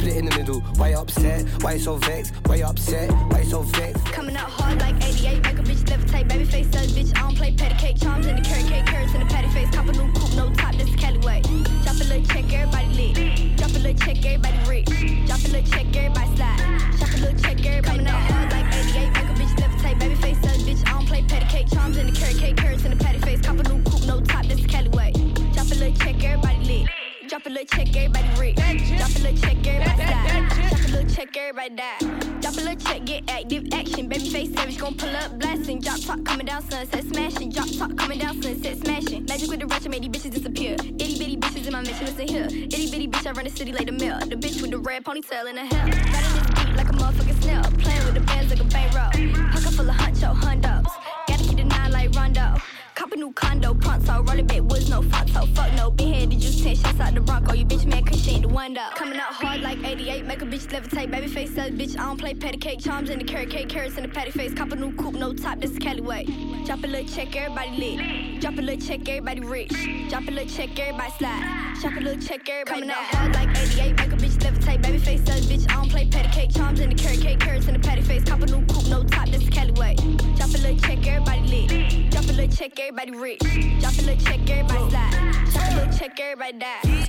split in the middle. Why you upset? Why you so vexed? Why you upset? Why you so vexed? Coming out hard like 88, make a bitch levitate. Baby face says, bitch, I don't play patty cake. Charms in the carrot cake, carrots in the patty face. Cop a new coupe, no top, this is Cali way. Drop a little check, everybody lit. Drop a little check, everybody rich. Drop a little check, everybody slide. Drop a little check, everybody coming out hard like 88, make a bitch levitate. Baby face says, bitch, I don't play patty cake. Charms in the carrot cake, carrots in the patty face. Cop a new coupe, no top, this is Cali way. Drop a little check, everybody lit. Drop a little check, everybody rich. Drop a little check, everybody slide. Drop a little check, everybody die. Drop a little check, get active action. Baby face savage, gon' pull up blasting. Drop top coming down, sunset smashing. Drop top coming down, sunset smashing. Magic with the ratchet made these bitches disappear. Itty bitty bitches in my mission, listen here. Itty bitty bitch, I run the city like the mill. The bitch with the red ponytail in her hair. Riding this beat like a motherfucking snail. Playing with the bands like a bankroll. Pocket full of huncho, hundos. Gotta keep the 9 like Rondo. Cop a new condo, pronto, rolling back woods, no photo, fuck no. Been headed, just 10 shots out the Bronco. You bitch man, cause she ain't the one though. Coming out hard like 88, make a bitch levitate. Baby face says, bitch, I don't play patty cake. Charms in the carrot cake, carrots in the patty face. Cop a new coupe, no top, this is Cali way. Drop a little check, everybody lit. Drop a little check, everybody rich. Drop a little check, everybody slide. Drop a little check, everybody coming out hard like 88, make a bitch levitate. Baby face says, bitch, I don't play patty cake. Charms in the carrot cake, carrots in the patty face. Cop a new coupe, no top, this is Cali way. Drop a little check, everybody lit. Drop a little check, everybody rich. Drop a little check, everybody slide. Drop a little check, everybody die.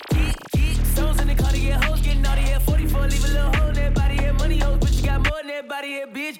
Souls in the car to get hoes, getting naughty here. 44, leave a little hole in that body here. Money hoes, but you got more than that body here. Bitch.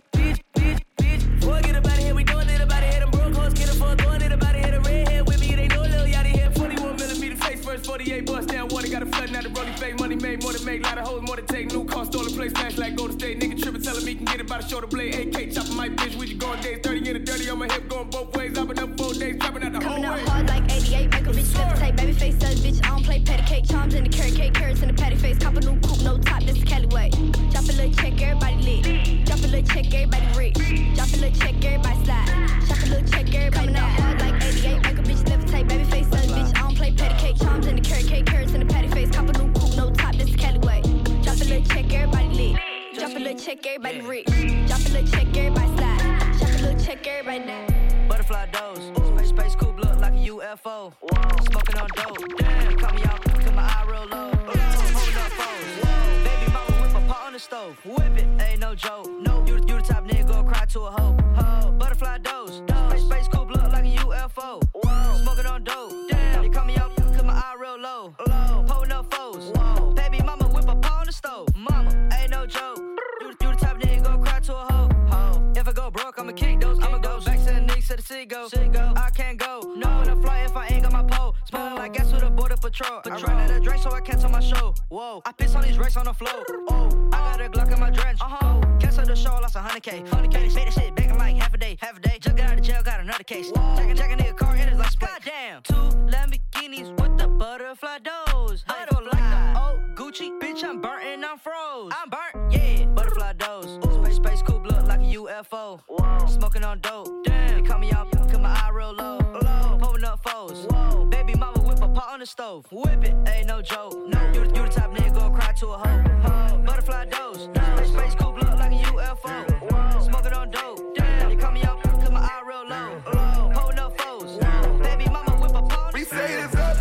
Boy, get about it here, we doing it about it here. Them broke hoes, get a fuck, doing it about it here. The red hair with me, they know Lil Yachty here. 41mm face first, 48 bust down water. Got a flooding out the rolling fake. Money made, more to make. Lot of hoes, more to take. New car, stolen place, smash like Golden State. Nigga trippin', telling me can get it by the shoulder blade. AK chopping my bitch, we just going days. 30 in the dirty on my hip, going both ways. I've been up 4 days, dropping out the whole way. Coming out hard like 88, make a bitch levitate. Baby face says, bitch, I don't play patty cake. Charms in the carrot cake, carrots in the patty face. Cop a new coupe, no top, this is Cali way. Drop a little check, everybody lit. Drop a little check, everybody rich. Drop a little check, everybody slide. Drop a little check, everybody coming out hard like 88, make a bitch levitate. Baby face says, bitch, I don't play patty cake. Charms in the carrot cake, carrots in the patty face. Cop a new coupe, no top, this is Cali way. Drop a little check, everybody lit. Drop a little check, everybody rich. Drop a little check, everybody slide. Drop a little check, everybody down. Butterfly dose, space coupe look like a UFO. Smoking on dope, damn. Call me out, cause my eye real low. Holding up phones, baby mama whip a pot on the stove. Whip it, ain't no joke. No, you the type nigga go cry to a hoe. Butterfly dose, space coupe look like a UFO. Smoking on dope, damn. You call me out, cause my eye real low. Holding up foes, baby mama whip a pot on the stove. Mama, ain't no joke. You the type nigga go cry to a hoe. If I go broke, I'ma kick those. I'ma go back to the niggas to the city go. I can't go. No, in a flight if I ain't got my pole. Smelling like gas with a border patrol. I ran out of drink so I cancel my show. Whoa, I piss on these racks on the floor. Oh, I got a Glock in my drench. Cancel the show, lost 100K. Made that shit back in like half a day. Just got out of jail, got another case. Jack a nigga car in his like split. Goddamn. 2 Lamborghinis with the butterfly doors. Butterfly. Like the old Gucci, bitch, I'm burnt and I'm froze. I'm burnt, yeah. Butterfly doors. Space coupe look like a UFO. Smoking on dope. Damn. They call me out, cause my eye real low. Pulling up foes. Baby mama whip a pot on the stove. Whip it, ain't no joke. No, you the type nigga go cry to a hoe. Butterfly dose. Space coupe look like a UFO. Smoking on dope. Damn. They call me out, cause my eye real low. Pulling up foes. Baby mama whip a pot on the stove. We say it's up,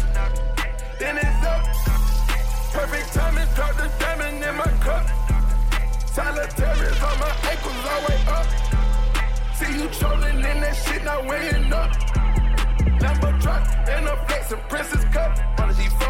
then it's up. Perfect timing, drop the diamond in my cup. Solitaires on my ankles, all way up. See you trolling in that shit, not weighing up. Lambo truck and a flex and princess cup. On the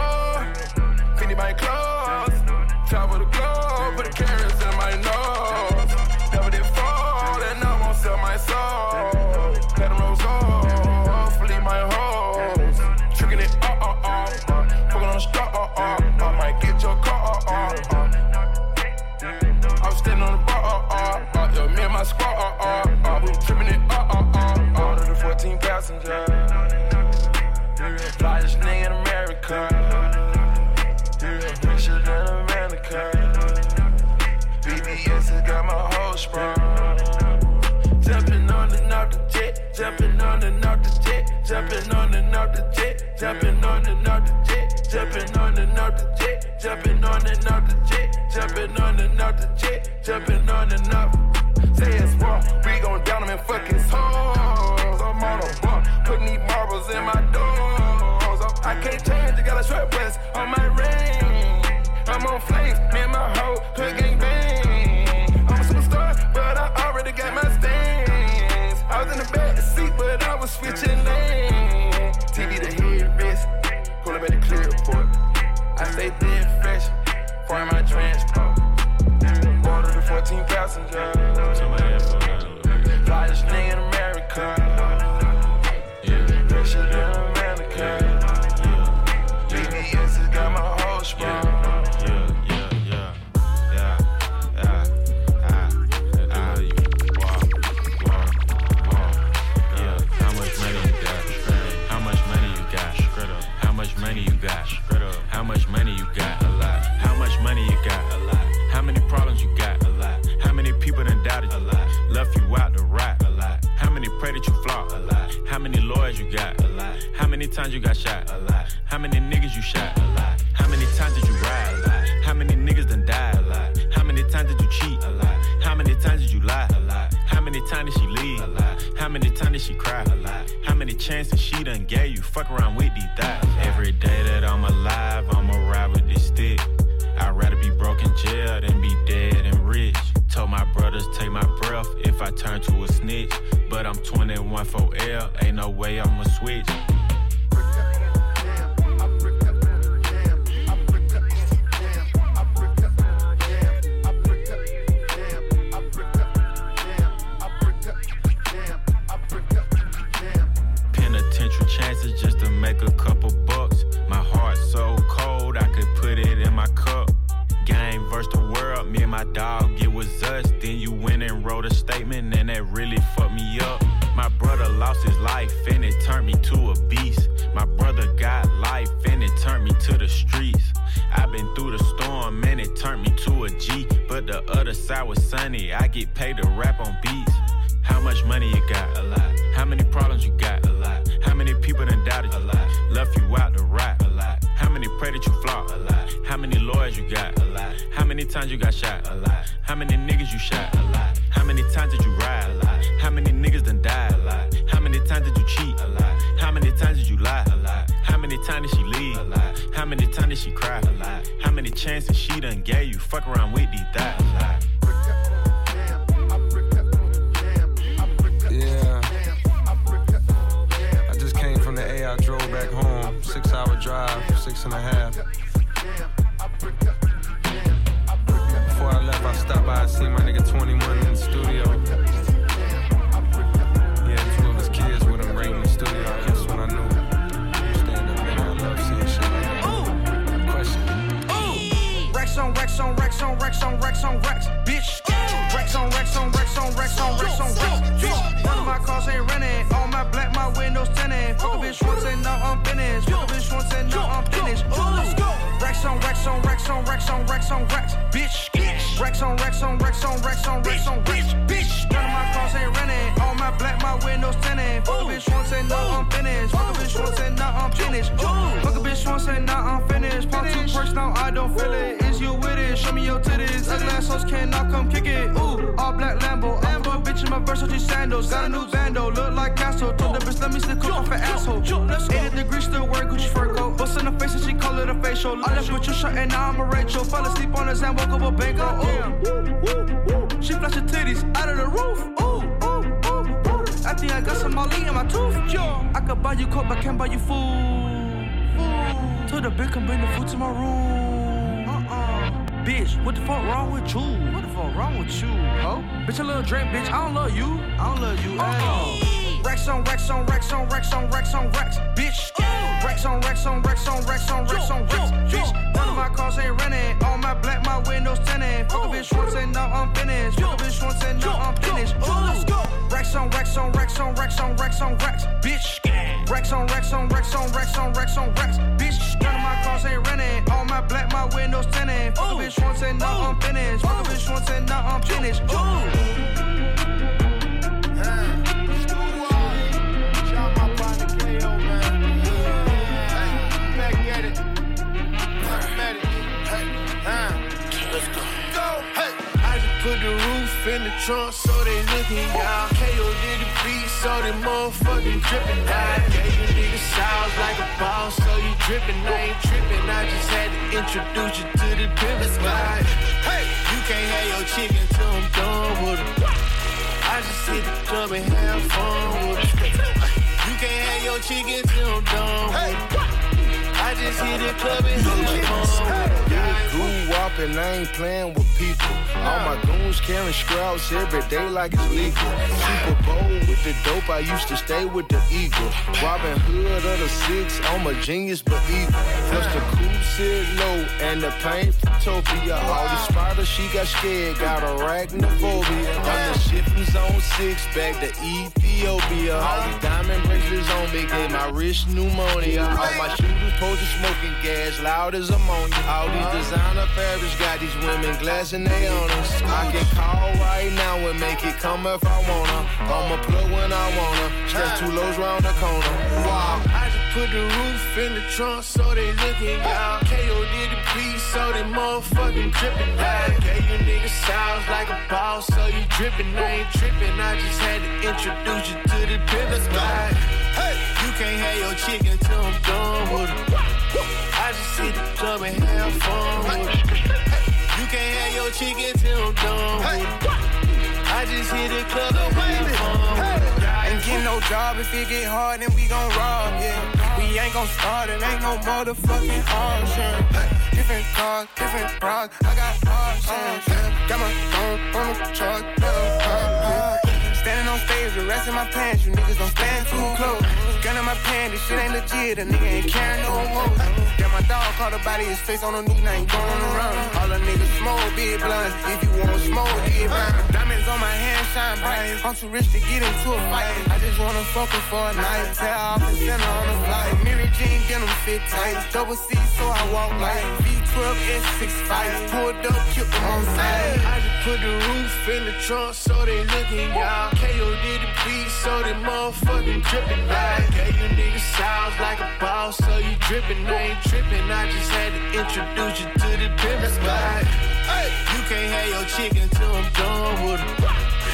G4, Fendi my clothes. Travel the globe, put the carrots in my nose. Never did fall, and I won't sell my soul. Let them rose off, leave my hoes. Tricking it, fucking on the straw, might get your car, I'm standing on the bar, yo, me and my squad, we tripping it, all of the 14 passengers. Flyest nigga in America, richer than America. BBS has got my whole sprung. Jumping on and off the jet, jumping on and off the jet, jumping on and off the jet, jumping on and off the jet, jumping on and off the jet, jumping on and off the jet, jumping on and off the jet, jumping on and off. Say it's wrong, we gon' down them and fuck his hoes. I'm on a bump, putting these marbles in my doors. I can't change, I got a short west on my ring. I'm on flames, me and my hood gang bang. I'm a superstar, but I already got my stance. I was in the back seat, but I was switching lanes. TV the headrest, pull up at the clear report. I stay thin fresh, for my transport. Water to 14 passengers. Flyest nigga in America. Pressure than America. BBS has got my whole sprung. How much money you got? A lot. How much money you got? A lot. How many problems you got? A lot. How many people done doubted you? A lot. Left you out to rot? A lot. How many pray that you flop? A lot. How many lawyers you got? A lot. How many times you got shot? A lot. How many niggas you shot? A lot. How many times did you ride? A lot. How many niggas done died? A lot. How many times did you cheat? A lot. How many times did you lie? A lot. How many times did she leave? A lot. How many times did she cry? A lot. How many chances she done gave you? Fuck around with these thighs. Every day that I'm alive, I'ma ride with this stick. I'd rather be broke in jail than be dead and rich. Told my brothers take my breath if I turn to a snitch. But I'm 21 for L, ain't no way I'ma switch. Penitentiary chances just to make a couple bucks. My heart so cold, I could put it in my cup. Game versus the world, me and my dog, it was us. Then you went and wrote a statement and that really fucked me up. My brother lost his life and it turned me to a beast. My brother got life and it turned me to the streets. I've been through the storm and it turned me to a G. But the other side was sunny, I get paid to rap on beats. How much money you got? A lot. How many problems you got? A lot. How many people done doubted you? A lot. Left you out to rot? A lot. How many pray that you flop? A lot. How many lawyers you got? A lot. How many times you got shot? A lot. How many niggas you shot? A lot. How many times did you ride? A lot. How many niggas done died? A lot. How many times did you cheat? A lot. How many times did you lie? A lot. How many times did she leave? A lot. How many times did she cry? A lot. How many chances she done gave you? Fuck around with these thighs. A lot. Yeah, I just came from the A, I drove back home, 6-hour drive, 6.5. Before I left, I stopped by, I seen my nigga 21 in the studio. He had 2 of his kids with him right in the studio, that's when I knew. Stand up, man, I love seeing shit like that. Question. Racks on racks on racks on racks on racks on racks, bitch. Racks on racks on racks on racks on racks on racks, bitch. None of my cars ain't renting. All my black, my windows tinted. Fuck a bitch once and now I'm finished. Fuck a bitch once and now I'm finished. Let's go. Racks on racks on racks on racks on racks on racks, bitch. Racks on racks on racks on racks on racks on racks, bitch. None of my cars ain't renting. All my black, my windows tinted. Fuck a bitch once and now I'm finished. Fuck a bitch once and now I'm finished. Fuck a bitch once and now I'm finished. Pop 2 perks now I don't feel it. Is you with it? Show me your titties. Ugly ass hoes cannot come kick it. Ooh, all black Lambo. I put a bitch in my Versace sandals. Got a new bando, look like Castro. Told the bitch let me stick off an asshole. 80 degrees still wearing Gucci fur coat. Bust in the face and she call it a facial. I left with your shirt and now I'm a Rachel. Fell asleep on his hand, woke up a banko. Ooh, she flash her titties out of the roof. Ooh, ooh, ooh, ooh. I think I got some Molly in my tooth. I could buy you coke, but can't buy you food. Told the bitch come bring the food to my room. Bitch, what the fuck wrong with you? What the fuck wrong with you, ho? Bitch, a little drink, bitch, I don't love you. I don't love you, Racks on racks on racks on racks on racks on racks, bitch. Racks on racks on racks on racks on racks on racks, bitch. None of my cars ain't renting. All my black, my windows tinted. Fuck a bitch once and now I'm finished. Fuck a bitch once and now I'm finished. Let's go. Racks on racks on racks on racks on racks on racks, bitch. Racks on racks on racks on racks on racks on racks, bitch. None of my cars ain't renting. All my black, my windows tinted. Fuck a bitch once and now I'm finished. Fuck a bitch once and now I'm finished. Put the roof in the trunk so they looking, y'all. KO did the beat so they motherfucking drippin'. I gave you niggas sauce like a boss, so you drippin'. I ain't trippin', I just had to introduce you to the pimpin'. Hey, chick until I'm done with her. I just hit the club and have fun with her. You can't have your chick until I'm done with her. I just hit the club and have fun with her. Goo wop and I ain't playing with people. All my goons carrying scraps every day like it's legal. Super Bowl with the dope, I used to stay with the Eagle. Robin Hood of the 6, I'm a genius but evil. Plus the cool sit low and the paint from Topia. All the spiders, she got scared, got arachnophobia. Run the shit from zone 6 back to Ethiopia. All these diamond bracelets on me gave my wrist pneumonia. All my shooters posing smoking gas, loud as ammonia. All these designer fabrics got these women glassing they on us. I can call right now and make it come if I wanna. I'ma plug when I wanna. Step 2 lows round the corner. Wow. I just put the roof in the trunk so they looking y'all. KO did the beat so they motherfucking drippin'. I gave you niggas sounds like a boss so you drippin'. I ain't trippin'. I just had to introduce you to the business guy. Hey, you can't have your chick until I'm done with her. I just hit the club and have fun with her. You can't have your chick until I'm done with her. I just hit the club and have fun with her. Ain't get no job if it get hard, then we gon' rob, yeah. We ain't gon' start, it ain't no motherfucking option. Different cars, different bras, I got options, yeah. Got my phone on the truck, standing on stage with rest in my pants, you niggas don't stand too close. Gun in my pants, this shit ain't legit, a nigga ain't carrying no woes. Got my dog caught a body, his face on the news, now ain't going around. All the niggas smoke, big blunts, if you want smoke, get round. Diamonds on my hand, shine bright, I'm too rich to get into a fight. I just wanna fuck her for a night, tear off and send her on a flight. Mary Jean, get them fit tight, double C, so I walk like V12, S65, pulled up, killed them on sight. I just put the roof in the trunk so they looking y'all. KO did the beat so they motherfucking drippin'. I gave you niggas sounds like a boss so you drippin'. I ain't trippin'. I just had to introduce you to the business guy. Hey, you can't have your chick until I'm done with her.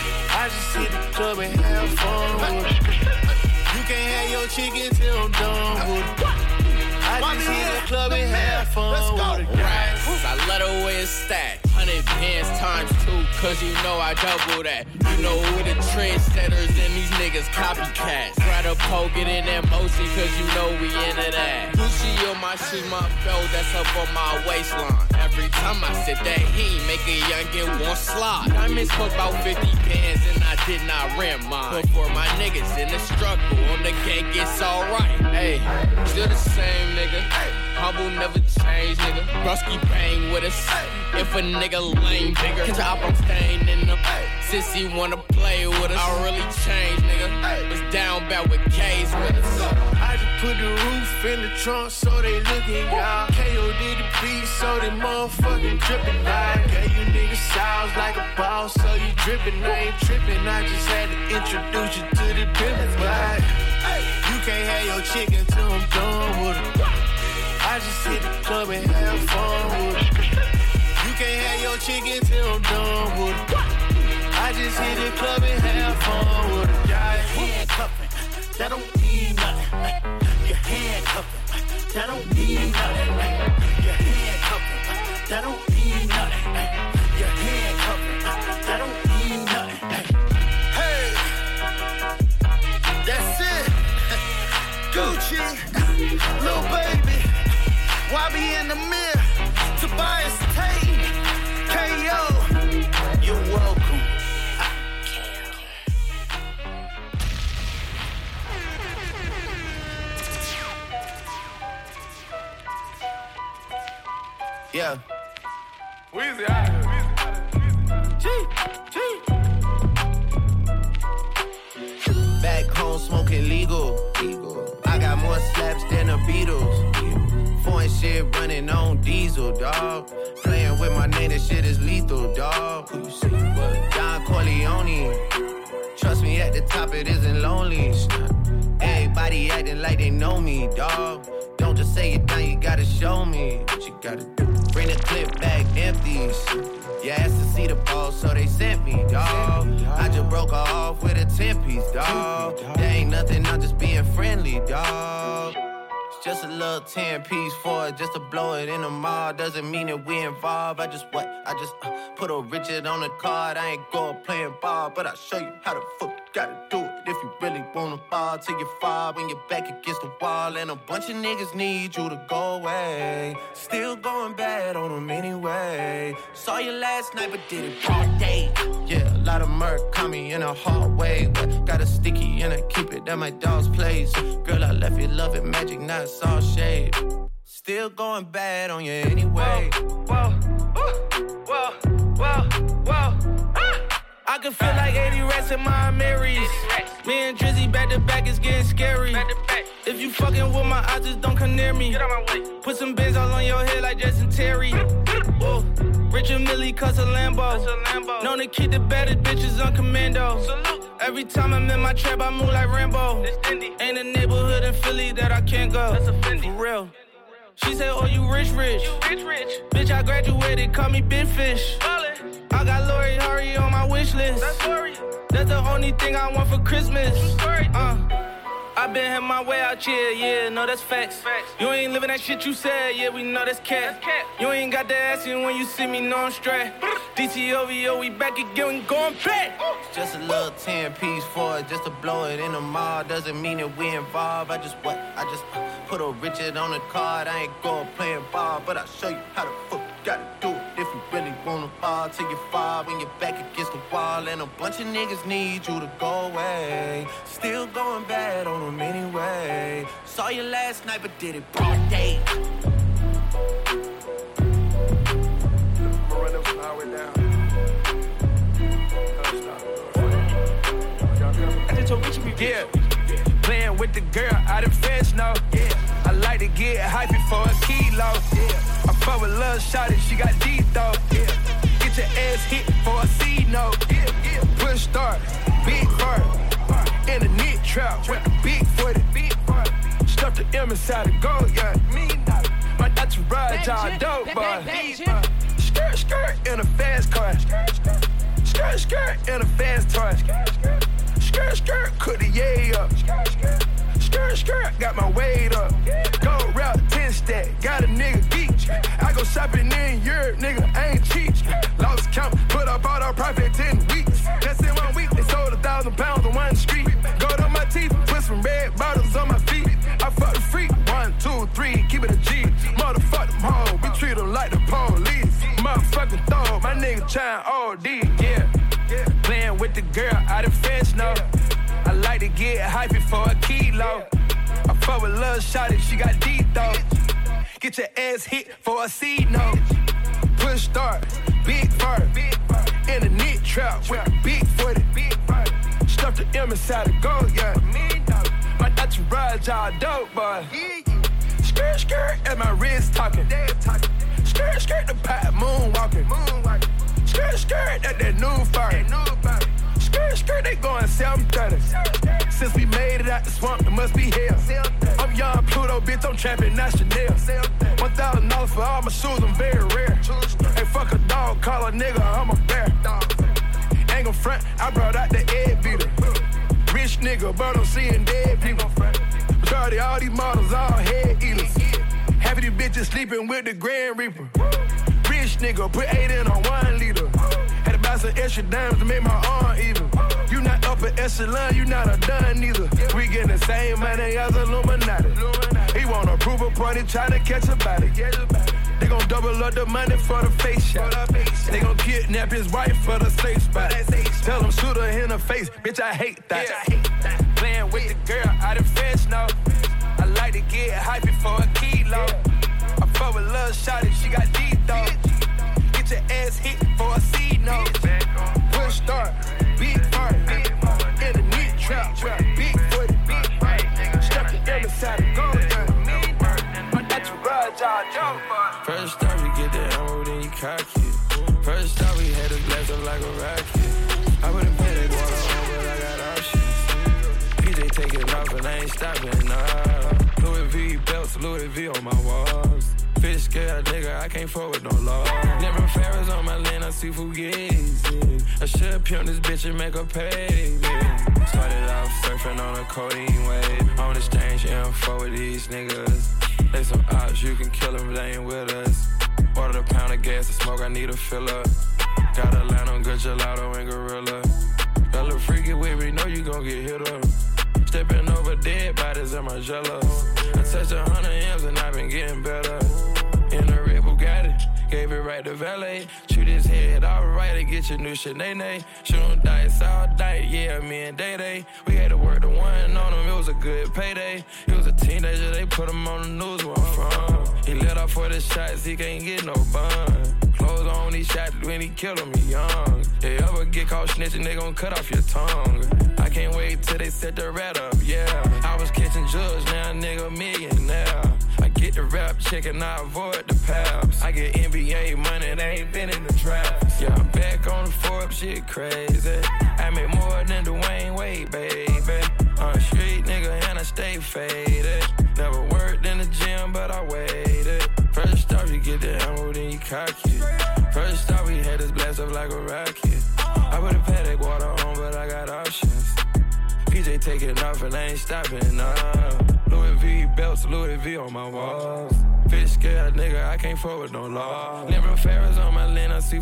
I just hit the club and have fun with her. You can't have your chick until I'm done with her. I just hit the club and have fun with her. I love the way it's stacked. 100 bands times 2, cause you know I double that. You know we the trendsetters and these niggas copycats. Try to poke it in that motion, cause you know we into that. Gucci on my shoes, my belt, that's up on my waistline. Every time I sit that heat, make a youngin' want slide. Diamonds cost about 50 bands and I did not rent mine. But for my niggas in the struggle, on the gang it's alright. Hey, still the same nigga. Humble never change, nigga. Brusky bang with us. If a nigga lame bigger, top I'm staying in the sissy wanna play with us. I really changed, nigga. Was down bad with K's with us. I just put the roof in the trunk so they looking y'all. KO did the beat so they motherfucking drippin'. I gave you niggas sounds like a boss so you drippin'. I ain't trippin'. I just had to introduce you to the business guy. You can't have your chick until I'm done with her. I just hit the club and have fun with her. You can't have your chick until I'm done with her. I just hit the club and have fun with her. Handcuffing, that don't mean nothing. Your handcuffing, that don't mean nothing. Your handcuffing, that don't mean nothing. Your handcuffing, that don't mean nothing. Hey, that's it. Gucci, little baby. Why be in the mirror? Tobias Tate, KO, you're welcome. Yeah. Weezy out here. Back home smoking legal. I got more slaps than the Beatles. Foreign shit running on diesel, dawg. Playing with my name, that shit is lethal, dawg. Who you see? What? Don Corleone. Trust me, at the top it isn't lonely. Everybody acting like they know me, dawg. Don't just say it now, you gotta show me what you gotta do. Bring the clip back empties. You asked to see the ball, so they sent me, dawg. I just broke her off with a 10-piece, dawg. There ain't nothing, I'm just being friendly, dawg. Just a little 10-piece for it, just to blow it in the mall. Doesn't mean that we involved. I just put a Richard on the card. I ain't go playing ball, but I'll show you how the fuck you gotta do it. If you really wanna fall till you fall when you're back against the wall. And a bunch of niggas need you to go away. Still going bad on them anyway. Saw you last night, but did it all day. Yeah, a lot of murk caught me in a hard way. But got a sticky and I keep it at my dog's place. Girl, I left you loving magic, not all shade. Still going bad on you anyway. Whoa, whoa, whoa, whoa. I can feel like 80 rats in my Marys. Me and Drizzy back to back is getting scary. If you fucking with my eyes, just don't come near me. Put some bins all on your head like Jason Terry. Whoa. Richard Millie cuss a Lambo. Known to keep the baddest bitches on commando. Every time I'm in my trap, I move like Rambo. Ain't a neighborhood in Philly that I can't go. For real. She said, oh, you rich. Bitch, I graduated, call me Big Fish. I got Lori Hurry on my wish list. That's the only thing I want for Christmas. I been had my way out here, yeah, no, that's facts. You ain't living that shit you said, yeah, we know that's cat. You ain't got the ass in when you see me, no, I'm straight. DCOVO, we back again, we going back. Just a little 10-piece for it, just to blow it in the mall. Doesn't mean that we involved. I just put a Richard on the card. I ain't go playing ball, but I'll show you how the fuck you gotta do it. If you really wanna fall till you fall when you're back against the wall. And a bunch of niggas need you to go away. Still going bad on them anyway. Saw you last night, but did it broad day. Yeah, playing with the girl out of French now. Yeah, I like to get hypey for a kilo. Yeah, I fuck with lil' shawty, she got deep though. Yeah, get your ass hit for a C note. Yeah, push start, big bird, in a knit trap with the big footy. Stuff the M inside the gold, yeah. My entourage all dope, boy. Skirt in a fast car. Skirt in a fast toy. Skirt, cook the yay up. Skirt, got my weight up. Go route 10 stack, got a nigga geek. I go shopping in Europe, nigga, I ain't cheap. Lost count, put up all our profit 10 weeks. Just in 1 week, they sold 1,000 pounds on one street. Gold on my teeth, put some red bottles on my feet. I fuck the freak, 1, 2, 3, keep it a G. Motherfuck them hoes, we treat them like the police. Motherfucking throw, my nigga trying OD, yeah. Playing with the girl out of French now. I like to get hypey for a kilo. I fuck with lil' shawty, she got deep though. Get your ass hit for a C note. Push start, big fur, in a knit trap with a big footy. Stuff the M inside the gold, yeah. My entourage all dope, boy. Skirt, and my wrist talking. Skirt, the pot moonwalking. Skirt, that new fire. Skirt, they going 730. Since we made it out the swamp, it must be hell. I'm young Pluto, bitch, I'm trapping, not Chanel. $1,000 for all my shoes, I'm very rare. Hey, fuck a dog, call a nigga, I'm a bear. Ain't gon' front, I brought out the egg beater. Rich nigga, but I'm seeing dead people. Majority all these models, all head eaters. Half of these bitches sleeping with the Grand Reaper. Rich nigga, put 8 in on 1 liter. Had to buy some extra dimes to make my arm even. You not upper echelon, you not a done neither. We getting the same money as Illuminati. He want a approval party, tryna catch a body. They gon' double up the money for the face shot. They gon' kidnap his wife for the safe spot. Tell him shoot her in the face, bitch, I hate that. Playing with the girl out of French now. I like to get hypey for a kilo. I fuck with lil' shawty, she got deep though. Get your ass hit for a C note. Push start, big fart, in a neat trap, big footy. Stuff the M inside the gold, my entourage all dope, boy. First off, we get the ammo, then you cock it. First off, we had to blast up like a rocket. I wouldn't pay that water on, but I got options. PJ taking off and I ain't stopping, nah. Louis V belts, Louis V on my walls. Fish scale nigga, I can't fuck with no law. Never Ferris on my land, I see Fugazi. I should pimp this bitch and make her pay me. Started off surfing on a codeine wave. On exchange info with these niggas. They some ops, you can kill them, they ain't with us. Ordered a pound of gas to smoke, I need a filler. Got a line on good gelato and gorilla. Got a little freaky with me, know you gon' get hit up. Stepping over dead bodies in my jello. I touched 100 M's and I've been getting better. In a red Bugatti, gave it right to valet. Shoot his head alright and get your new shit, nay. Shoot him dice all night, yeah, me and Day. We had to work the one on him, it was a good payday. He was a teenager, they put him on the news where I'm from. He let off for the shots, he can't get no bun. Clothes on, he shot when he killed him, he young. They ever get caught snitching, they gon' cut off your tongue. I can't wait till they set the rat up, yeah. I was catching drugs, now a nigga millionaire. I get the rap check and I avoid the paps. I get NBA money, they ain't been in the drafts. Yeah, I'm back on the Forbes, shit crazy. I make more than Dwayne Wade, baby. I'm a street nigga and I stay faded. Never worked in the gym, but I waited. First off, you get the ammo, then you cock it. First off, we had this blast up like a rocket. I put a paddock water on, but I got options. PJ taking off and I ain't stopping, nah. Louis V belts, Louis V on my walls. Fish scared nigga, I can't forward no law. Limber Ferris on my lane, I see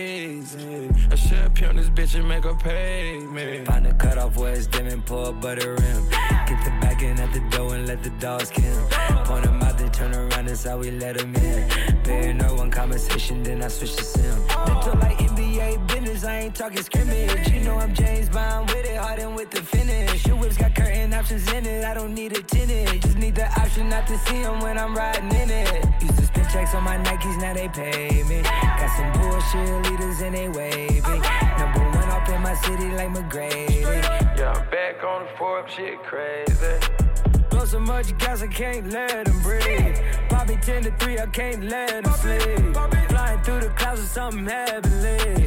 Fugazi. I should pimp this bitch and make her pay me. Find the cutoff where it's dim and pull a butter rim. Get the back in at the door and let the dogs kill. Point them out, then turn around, that's how we let them in. Bear no one conversation, then I switch to sim. Little like NBA business, I ain't talking scrimmage. You know I'm James Bond with it, hardened with the finish. Your whip's got curtain options in it, I don't need a tinted. Just need the option not to see them when I'm riding in it. Used to spend checks on my Nikes, now they pay me. Got some bullshit leaders and they wavy. Number one up in my city like McGrady. Yeah, I'm back on the Forbes, shit crazy. Blow so much gas, I can't let them breathe. Bobby 10 to 3, I can't let them sleep. Flying through the clouds with something heavenly.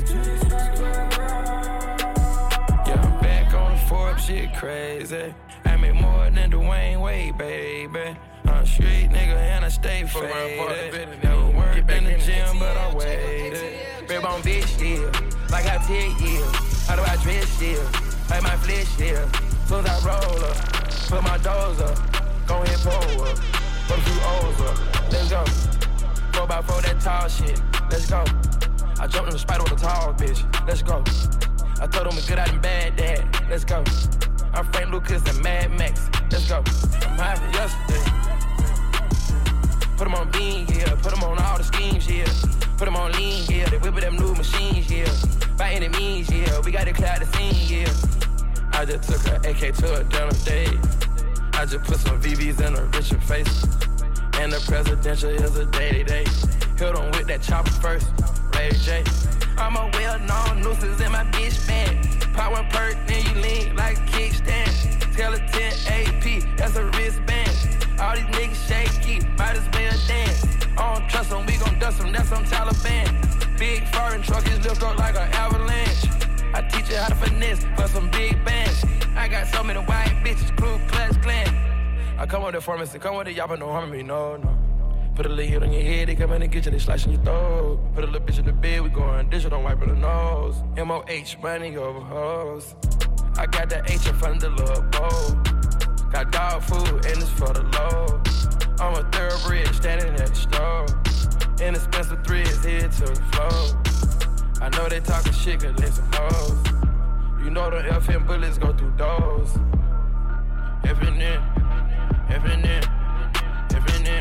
Yeah, I'm back on the Forbes, shit crazy. I make more than Dwayne Wade, baby. I'm a street nigga and I stay faded. Never worked in the gym, but I waited. Rib on bitch, yeah. Like I take, yeah. How do I dress, yeah? Like my flesh, yeah. Soon as I roll up, put my doors up. Go ahead, pull up. Put a few O's up. Let's go. 4x4, that tall shit. Let's go. I jumped in the spider with a tall bitch. Let's go. I told him a good out and bad dad. Let's go. I'm Frank Lucas and Mad Max. Let's go. I'm high from yesterday. Put 'em on bean, yeah. Put 'em on all the schemes, yeah. Put 'em on lean, yeah. They whipping them new machines, yeah. By any means, yeah. We gotta clear out the scene, yeah. I just took her AK to a dinner date. I just put some VVs in her richer face. And the presidential is a day-to-day. Hit 'em with that chopper first, Ray J. I'm a well-known nuisance in my bitch band. Pop one perk, then you lean like a kickstand. Skeleton AP, that's a wristband. All these niggas shaky, might as well dance. I don't trust them, we gon' dust them, that's some Taliban. Big foreign truck is lift up like an avalanche. I teach you how to finesse for some big bands. I got so many white bitches, Ku Klux Klan. I come with the pharmacy, come with it, y'all but no harm me, no. Put a little hit on your head, they come in and get you, they slicing your throat. Put a little bitch in the bed, we going digital, don't wipe her the nose. MOH, money over hoes. I got the H in front of the little bowl. Got dog food and it's for the low. I'm a thoroughbred standing at the store. Inexpensive threads here to the floor. I know they talking shit cause they some hoes. You know the FM bullets go through doors. FNN, FNN, FNN,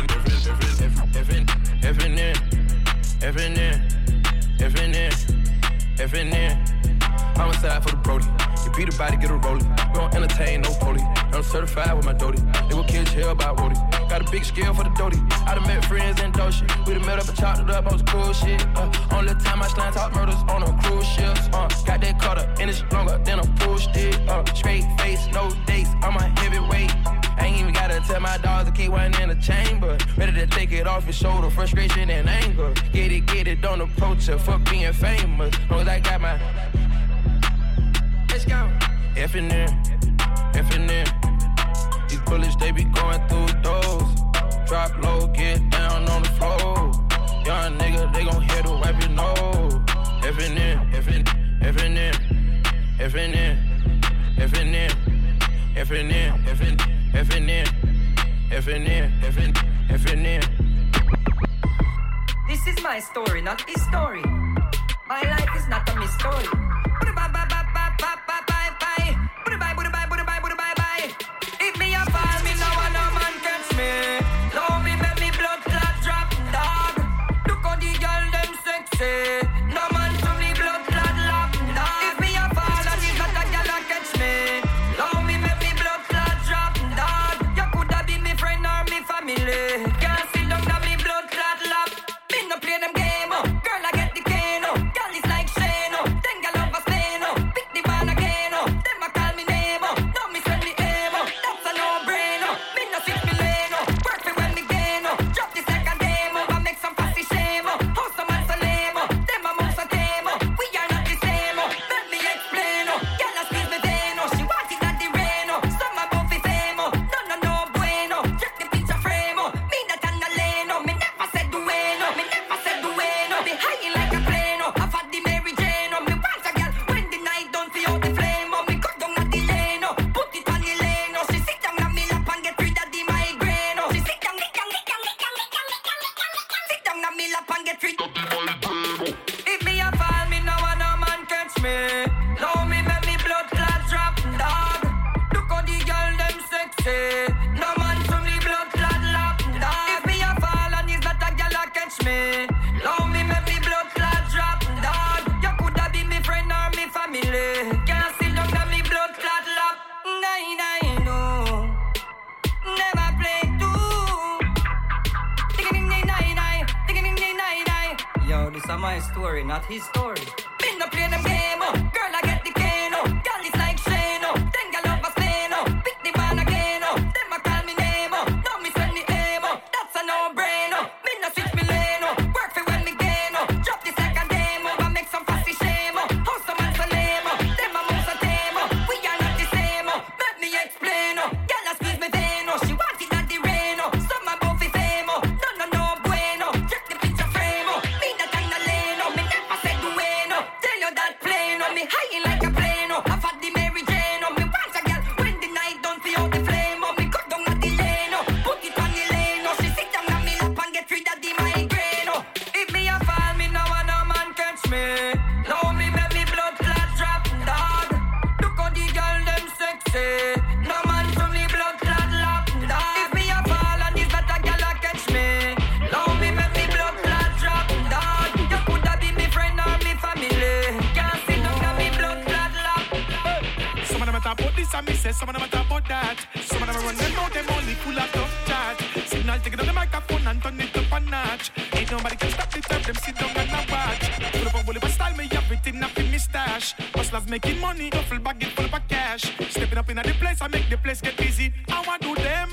FNN, FNN, FNN, FNN. I'm aside for the Brody. You beat a body, get a rollie. We don't entertain no poli. I'm certified with my Doty. They will kill hell by Wody. Got a big scale for the Doty. I done met friends in Doshi. We done met up and chopped it up on some cool shit. Only time I slime talk murders on them cruise ships. Got that cutter and it's longer than a pool stick. Straight face, no dates. I'm a heavyweight. I ain't even gotta tell my dogs to keep one in the chamber. Ready to take it off your shoulder, frustration and anger. Get it, don't approach her. Fuck being famous. Long as I got my. Let's go. FNN, FNN. These bullets, they be going through doors. Drop low, get down on the floor. Young nigga, they gon' hit to wipe your nose. FNN, FNN, FNN, FNN, FNN. This is my story, not his story. My life is not a mystery. If me a fall, me no one no man catch me. Love me, make me blood clot drop, dog. Look how the girl them sexy. No man to me blood clot lock, dog. If me a fall, and if not a girl a catch me. Love me, make me blood clot drop, dog. You coulda be me friend or me family. Can't sit down na me blood clot lap. Me no play them game, oh. Girl I get the cane, oh. Girl is like Shane, oh. Then girl over Spain, oh. Pick the ball again, oh. Them a call me name, oh. Now me send me aim, oh. That's a no-brainer. Me no switch me lane, oh. Work me when me gain, oh. Drop the second game, oh. I make some fussy shame, oh. How some man so lame, oh. Them a move so tame, oh. We are not the same, oh. Let me explain, oh. Girl a squeeze me vein, oh. She want it at the rain, oh. Some a both the fame, oh. No bueno. Check the picture frame, oh. Me not on the lane, oh. Me never said dueno, me never said dueno. Me high like a plane, oh. I've had the Mary Jane, oh. Me want a girl when the night don't feel the flame, oh. Me cut down at the lane, oh. Put it on the lane, oh. She sit down on me lap and get rid of the migraine, oh. She sit down, sit down on me lap and get rid of the migraine, oh. If me a fall, me no want no man catch me. Love me, make me blood clot drop, dog. Look how the girl them sexy. No man to me blood clot lap, dog. If me a fall and it's not a girl a catch me. Love me, make me blood clot drop, dog. You coulda be me friend or me family. Can't sit down on me blood clot lap. Nine, no. Never play two. Ding-a-ding-ding-nine-nine. Ding-a-ding-ding-nine-nine. Yo, this is my story, not his story. Me no play them game, oh. Girl, I get the cane, oh. Girl is like Shane, oh. Then girl over Spain, oh. Pick the ball again, oh. Them a call me name, oh. Now me send me aim, oh. That's a no-brainer. Me no switch me lane, oh. Work for when me gain, oh. Drop the second game, oh. I make some fussy shame, oh. How some man so lame, oh. Them a move so tame, oh. We are not the same, oh. Let me explain, oh. Girl a squeeze me vein, oh. She want it at the rain, oh. Some a both the fame, oh. No bueno. Check the picture frame, oh. Me not on the lane, oh. Me never said dueno. Tell you that plain, oh. Me high like a plane, oh. I've had the Mary Jane, oh. Me want a girl when the night don't feel the flame, oh. Me cut down at the lane, oh. Put it on the lane, oh. She sit down on me lap and get rid of the migraine, oh. If me a fall, me no want no man catch me. Love me, make me blood clot drop, dog. Look how the girl them sexy. No man to me blood clot lap, dog. If me a fall and it's not a girl a catch me. Love me, make me blood clot drop, dog. You coulda be me friend or me family. Can't sit down on me blood clot lap. Some of them a talk about this and me say some of them a talk about that. Some of them a run them out, them only full of tough chat. Signal take it on the microphone and turn it up a notch. Ain't nobody can stop the time, them sit down and a watch. Full of a bully but style, me everything up in me stash. Hustlers making money, duffel bag it full of cash. Stepping up in the place, I make the place get busy. I want to do them.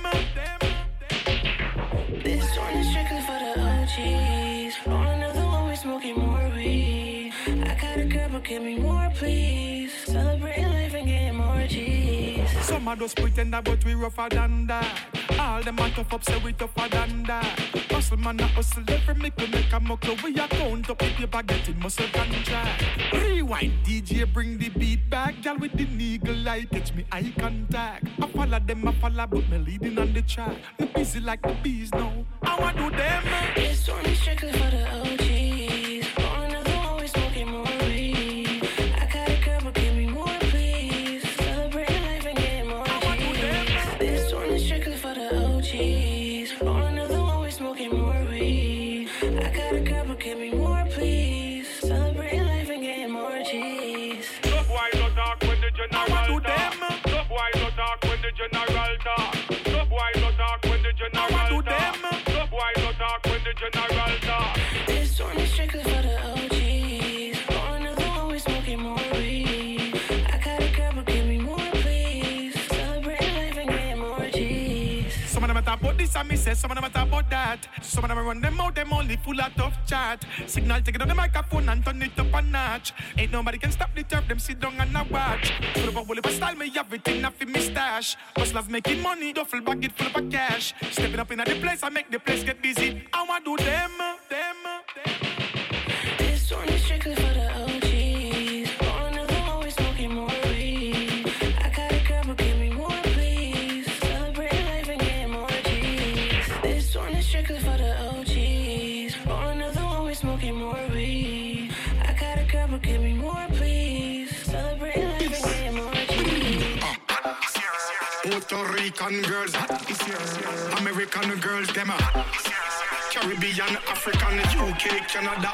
This one is strictly for the OGs. On another one, we smoking more weed. I got a girl, but give me more, please. Celebrating life and getting more G's. Some of those pretender, but we rougher than that. All them a tough up, say we tougher than that. Hustle man a hustle, every mickle make a muckle. We a count up if you baguette muscle contract. Rewind, DJ bring the beat back. Girl with the eagle eye, catch me eye contact. I follow them, but me leading on the track. Me busy like the bees now. I want do them. This one is strictly for the OGs. On another one, we smoking more weed. I got a girl, but give me more, please. Celebrating life and getting more G's. This one is strictly for the OGs. On another one, we smoking more weed. I got a girl, but give me more, please. Celebrating life and getting more G's. Look why no talk when the general talk. Look why no talk when the general talk. Look why no talk when the general talk. Look why no talk when the general talk. This one is strictly for the OGs. On another one, we smoking more weed. I got a girl, but give me more, please. Celebrating life and getting more G's. Some of them a talk about this and me say some of them a talk about that. Some of them a run them out, them only full of tough chat. Signal take it on the microphone and turn it up a notch. Ain't nobody can stop the turf, them sit down and a watch. Full of a bully but style, me everything off in me stash. Hustlers making money, duffel bag it full of a cash. Stepping up in the place, I make the place get busy. I want do them. This one is strictly for the OGs. On another one, we smoking more weed. I got a girl, but give me more, please. Jamaican girls hot this year. American girls them a hot this year. Caribbean, African, UK, Canada.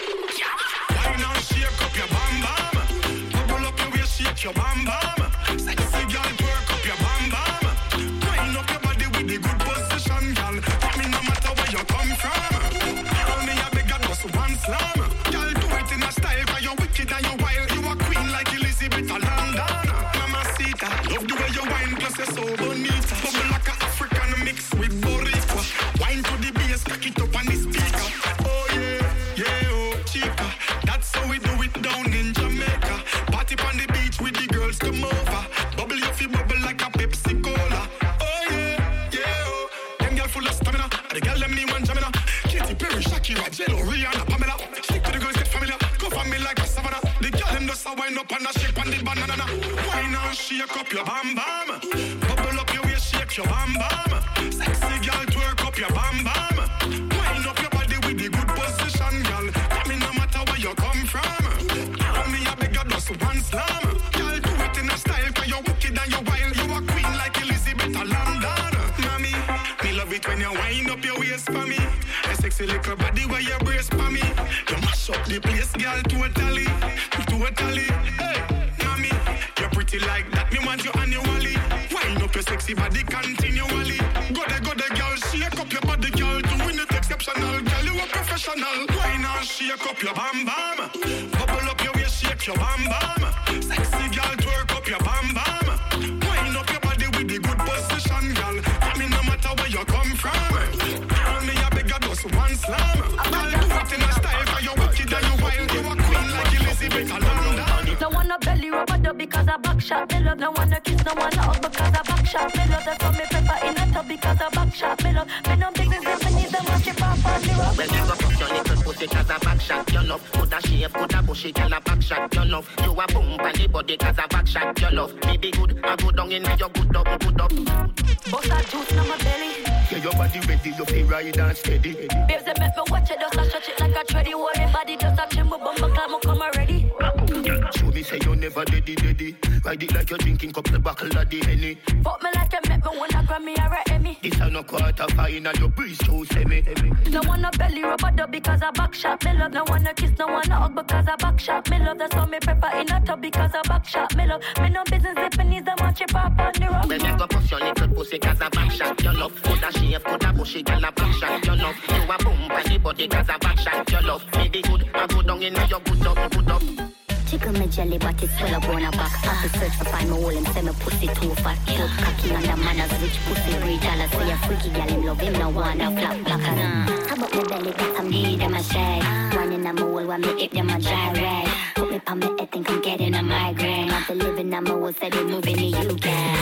Why not shake up your bam bam? Bubble up your waist, shake your bam bam. Sexy girl, twerk up your bam bam. Wind up your body with the good position, girl. I mean, no matter where you come from. Tell me I beg you just one slam. Girl, do it in a style, cause you're wicked and you're wild. You a queen like Elizabeth of London. Mamacita, love the way you wine, plus you're so bonita. Bubble like an African mix with Boricua. Wine to the bass, cock it up on the speaker. Oh yeah, yeah, oh chica. That's how we do it down in Jamaica. Party on the beach with the girls come over. Bubble your feet, bubble like a Pepsi Cola. Oh yeah, yeah, oh. Them girl full of stamina. The girl them me one jamina. Katy Perry, Shakira, J.Lo, Rihanna, Pamela. Stick to the girls, get familiar. Go for me like a savannah. The girl them just a wind up and a shake on the banana. Wine and shake up your bam bam. Bubble up your waist, shake your bam bam. Sexy girl, twerk up your bam bam. Wind up your body with the good position, girl. Come in no matter where you come from. Tell me I beg you just one slam. Girl, do it in a style, cause you're wicked and you're wild. You a queen like Elizabeth of London. Mommy, me love it when you wind up your waist for me. A sexy little body where you brace for me. You mash up the place, girl, totally. Totally, hey, mommy, you're pretty like that, me want you annually. Wind up your sexy body continually. Go there, girl, shake up your body, girl. Doing it exceptional, girl, you a professional. Wine and shake up your bam bam. Bubble up your waist, shake your bam bam. Sexy girl, twerk up your bam bam. Wind up your body with the good position, girl. I mean, no matter where you come from. Tell me I beg you just one slam. Girl, do it in a style, cause you're wicked and you're wild. You a queen like Elizabeth of London. No wanna belly rub a dub because I back shot me love. No wanna kiss, no wanna hug because I back shot me love. That's why me prefer in a tub because I back shot me love. Me no business if I need them watch it pop on the road. When you go fuck your little pussy cause I back shot your love. Put a shape, put a bushy, girl I back shot your love. You a boom on the body cause I back shot your love. Me be good, I go down in your good up, good up. Bust a juice on my belly. Yeah, your body ready, you feel right and steady. Babes, they make me watch it, just a stretch it like a treadie. Hold me body, just a trim my bumper, climb up, come already. Show me say you never daddy. Ride it like you're drinking cup the buckle of the Henny. Fuck me like you make me wanna Grammy or a Emmy. This a no quarter final, your breeze too semi. No wanna belly rub a dub because I back shot me love. No wanna kiss, no wanna hug because I back shot me love. That's why me prefer in a tub because I back shot me love. Me no business if I need them watch it pop on the road. When you go push your little pussy cause I back shot your love. Put a shape, put a bushy, girl I back shot your love. You a boom on the body cause I back shot your love. Me be good, I go down in your good up, good up. Tickle me jelly, but it's full of bone back. Have to search for find my hole and say my pussy too fat. Cute cocky on the manners, rich pussy breed. Dollars say a freaky gal him love him, no wanna flap blacker. How about my belly, got some need them a shade. One in a hole, when me hip them a dry rag. Put me on my head, think I'm getting a migraine. After living on my hole, said they moving to UK.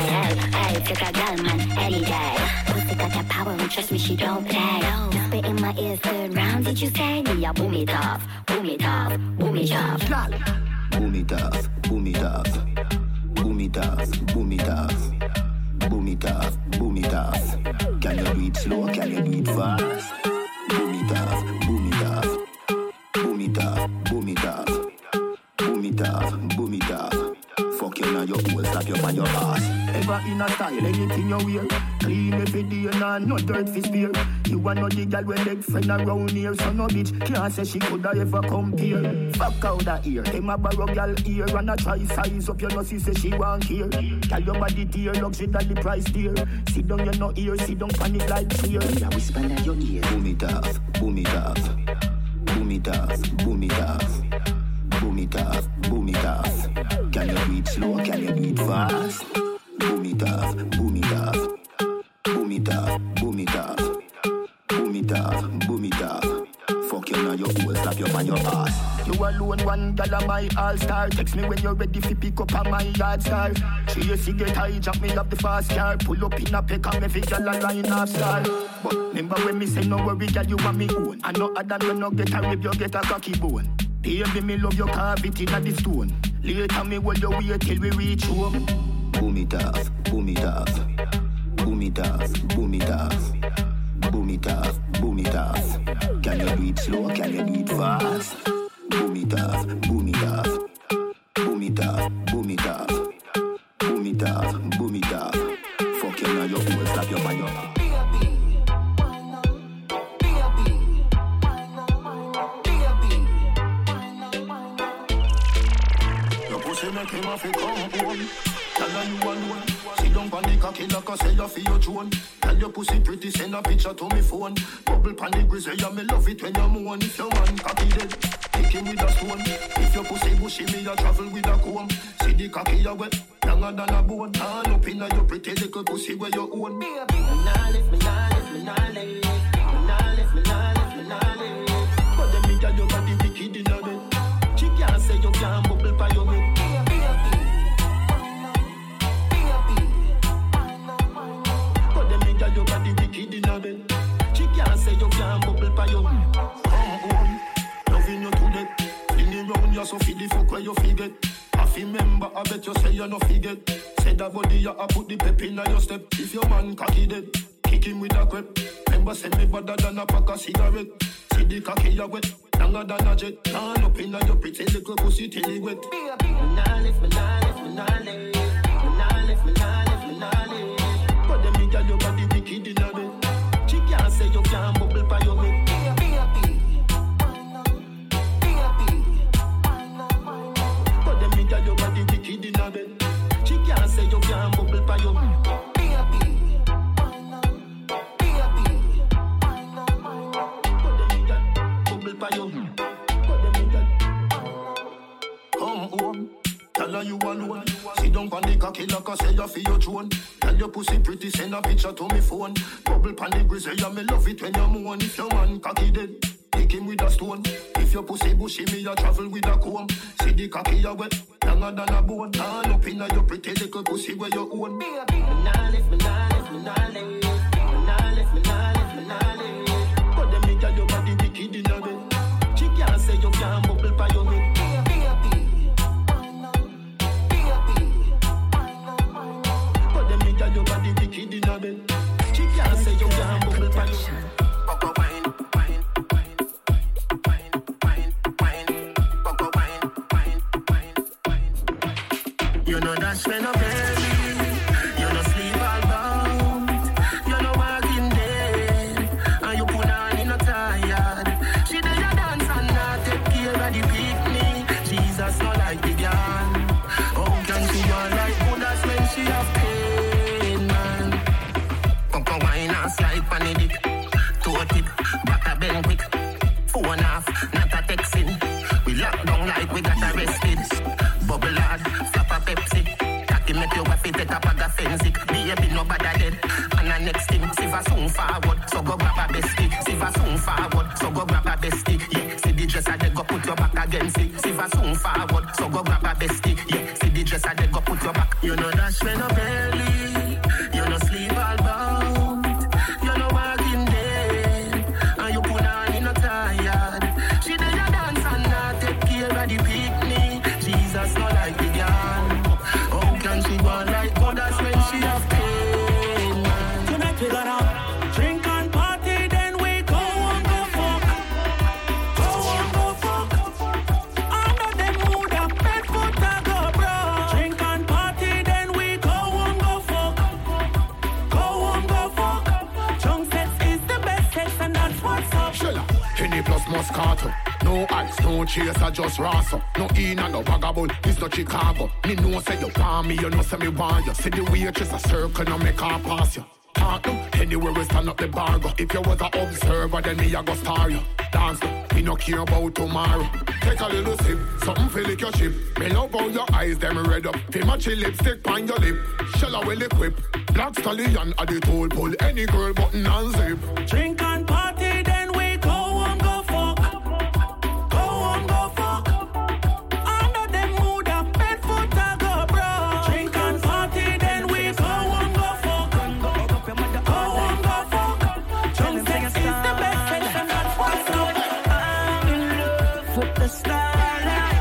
Hey, take a gal man, any day. Pussy got that power, and trust me, she don't play. Spit in my ears, third round, did you say? Me a boom it off, boom it off, boom it off. Boom it off, boom it off, boom it off, boom it off, boom it off, boom it off. Can you do it slow? Can you do it fast? Boom it off, boom it off, boom it off, boom it off, boom it off, boom it off. Fuck you now, your hole, slap you on your ass. Ever in a style, anything you wear. Clean every day, nah, no dirt fi spear. You are not the girl with leg friend around here. So no bitch can't say she coulda ever compare. Fuck out that ear, them a borrow girl ear. And a try size up your nose, say she want care. Tell your body tear, luxury that the price dear. Sit down, you no ear, sit down, panic like fear. Yeah, whisper in your ear. Boom it off, boom it off, boom it off, boom it off. Boom it off, boom it off. Can you do it slow, can you do it fast? Boom it off, boom it off. Boom it off, boom it off. Boom it off, boom it off. Fuck you now, your hole, slap you on your ass. You alone, one gal of my all-star. Text me when you're ready fi pick up on my yard star. Tracy get high, jack me up the fast car. Pull up in a peck and me fi gal a line off star. But remember when me say no worry, gal, you want me own. And no other when no get a rib, you get a cocky bone. Baby, me love your cavity in the stone. Later me hold your way till we reach home. Boom it off, boom it off. Boom it off, boom it off. Boom it off, boom it off. Can you do it slow, can you do it fast? Boom it off, boom it off. Boom it off, boom it off. Boom it off, boom it off. Fuck you now, make him have to come home. Tell her you alone. Sit down on the cocky like I say you feel your drone. Tell your pussy pretty, send a picture to me phone. Bubble pan the grizzly, yeah, me love it when you moan. If your man cocky dead, kick him with a stone. If your pussy bushy, me a travel with a comb. See the cocky you wet, younger than a bone. All up in your pretty little pussy where you own. Me nah lift, me nah lift, me nah lift. Me nah lift, me nah lift, me nah lift. But them me got your body wicked in a bed. She can't say you can't bubble by your head. Your body wicked in a bed. She can't say you can't bubble by your home. Loving you to death. Fling it round you so feed the fuck where you forget. Half remember, I bet you say you no forget. Say that body you a put the pep in your step. If your man cocky dead, kick him with a crep. Remember say me better than a pack of cigarette. See the cocky you wet, longer than a jet. Turn up in your pretty little pussy till it wet. Me nah lift, me nah lift, me nah lift. Me nah lift, me nah lift, me nah lift. But them me got your body wicked in a bed. She can't say you can't bubble by your head. But them me got your body wicked in a bed. She can't say you can't bubble by your head. But them me got bubble by your head. But them me got come home. Tell her you alone. Sit down on the cocky like I say you feel your throne. Tell your pussy pretty, send a picture to me phone. Bubble pan the grizzly, yeah, me love it when you moan. If your man cocky dead, kick him with a stone. If your pussy bushy, me a travel with a comb. See the cocky you wet, longer than a bone. All up in your pretty little pussy where you own. Me nah lift, me nah lift, me nah lift. Me nah lift, me nah lift, me nah lift. But them me got your body wicked in a bed. She can't say you can't bubble by your head. Your body wicked in a bed. She can't say you can't bubble by your head. You know that's when I'm belly. You know sleep all bound. You know walking dead. And you put on in a tired. She did a dance and not take care of the picnic. Jesus not like the girl. How can she want like good as when she have pain, man? Pump wine and slide pan the dick. Toe tip, back a bend quick. Phone off, not a texting. We lock down like we got arrested. Bubble hard, flap a Pepsi. Cocky make your wife take a bag of fensic. Baby no bad dead. And the next thing, Siva soon forward. So go grab a bestie. Siva soon forward. So go grab a bestie. Yeah, see the dresser they go put your back against it. Siva soon forward. So go grab a bestie. Yeah, see the dresser they go put your back. You know that's when no belly. You know sleep all bound. You know walking dead. And you put on in a tired. She did a dance and not take care of the picnic. Jesus not like the girl. How can she go like God? That's when she have pain, man. Tonight we gonna drink and party, then we go and go fuck. Go and go fuck. Under them mood up, bed foot and go bro. Drink and party, then we go and go fuck. Go and go fuck. Drunk sex is the best sex and that's what's up. Shella, Henny plus Moscato. No ice, no chaser, just rasa. No in and no vagabond, it's not Chicago. Me know say you want me, you know say me want you. See the waitress a circle, no make her pass you. Talk to anywhere we stand up the bar go. If you was a observer, then me a go star you. Dance to, me no care about tomorrow. Take a little sip, something feel like your ship. Me love how your eyes, them red up. Feel match your lipstick on your lip. Shell well equipped. Black stallion at the toll pull. Any girl button and zip. Drink and party, then we go and go fuck. Go and go fuck. Under them mood up, bed foot and go bro. Drink and party, then we go and go fuck. Go and go fuck. Drunk sex is the best sex and that's what's up. I'm in love with the starlight.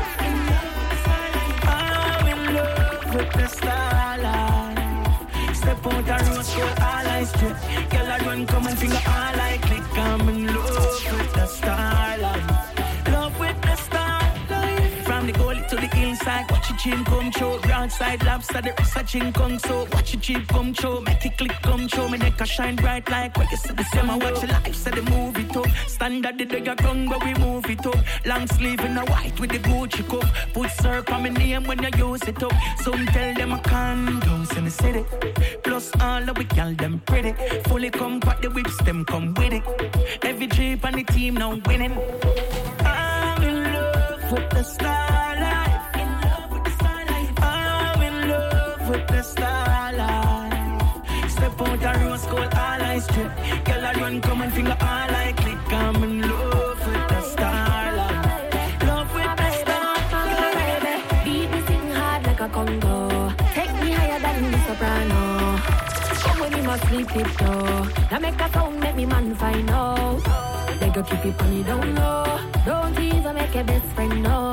I'm in love with the starlight. Step out the road, so all I strip. Girl, I run, come and finger all I click. I'm in love with the starlight. Love with the starlight. From the gully to the hillside, watch it dream come true. Broadside lobster, the rest of chin kong so. Watch your cheap come true, make it click come true. Me neck a shine bright like what you see the same. I watch your life, so the move it up. Standard the day gun, but we move it up. Long sleeve in a white with the Gucci cup. Put syrup on my name when you use it up. Some tell them I can't dance in the city. Plus all of we girl them pretty. Fully come back the whips, them come with it. Every jeep on the team now winning. I'm in love with the star life. In love with the star life. I'm in love with the star life. Step out the rose gold, all I strip. Girl I run, come and finger all I click. I'm in love with the star life. Love with the star life. Beat me sing hard like a Congo. Take me higher than the soprano. Come when you must sleep tiptoe. Now make a sound, make me man find out. They go keep it on me, don't know. Don't tease or make a best friend know.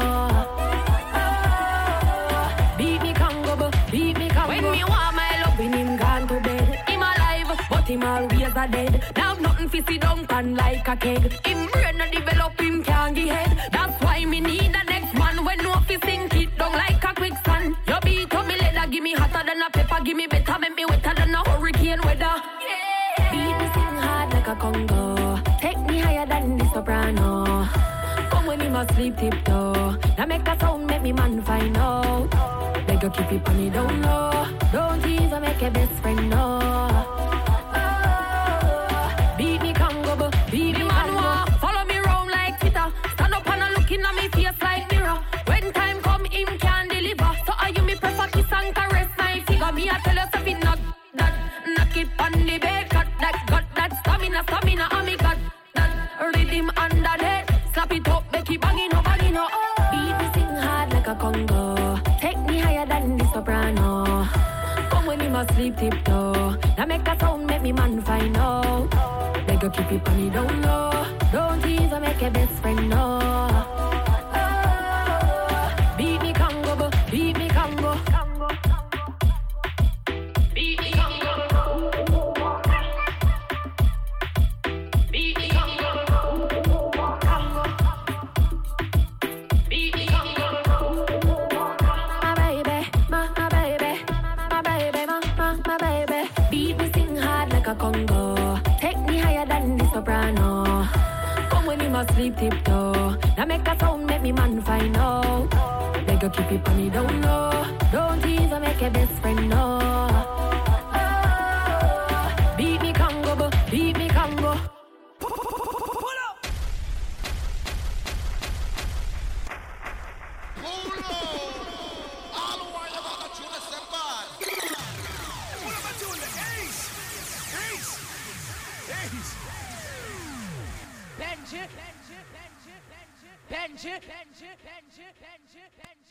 Beat me Congo, beat me Congo. When me want my love, when him gone to bed. Him alive, but him always a dead. Now nothing fi sit down pan like a keg. Him brain no develop, him can't get head. That's why me need the next man. When no fi sink it down like a quicksand. Your beat on me leather, give me hotter than a pepper. Give me better, make me wetter than a hurricane weather. Beat me sing hard like a Congo. Take me higher than the soprano. Come when you must sleep tiptoe. Now make a sound, make me man find out. They go keep it on me, don't know. Don't tease or make a best friend know. Beat me Congo, beat me Congo. Follow me round like Twitter. Stand up and a looking at me face like mirror. When time come, him can deliver. So are you me prefer kiss and caress my figure? Me I tell you something not that. Knock it on the bed, got that stamina, and me got that rhythm under that. Slap it up, make it banging up, banging up. Beat me sing hard like a Congo. Take me higher than the soprano. Come when you must sleep tiptoe. Now make a sound, make me man find out. They go keep it on me, don't know. Don't tease or make a best friend know. Beat me Congo, beat me Congo. Beat me Congo. Beat me Congo. Beat me Congo. My baby, my baby, my baby, my baby. Beat me sing hard like a Congo. Take me higher than the soprano. Come when you must sleep tiptoe. Now make a sound, make me man find out. They go keep it on me, don't know. Don't tease or make a best friend know. Beat me Congo, beat me Congo. Benji.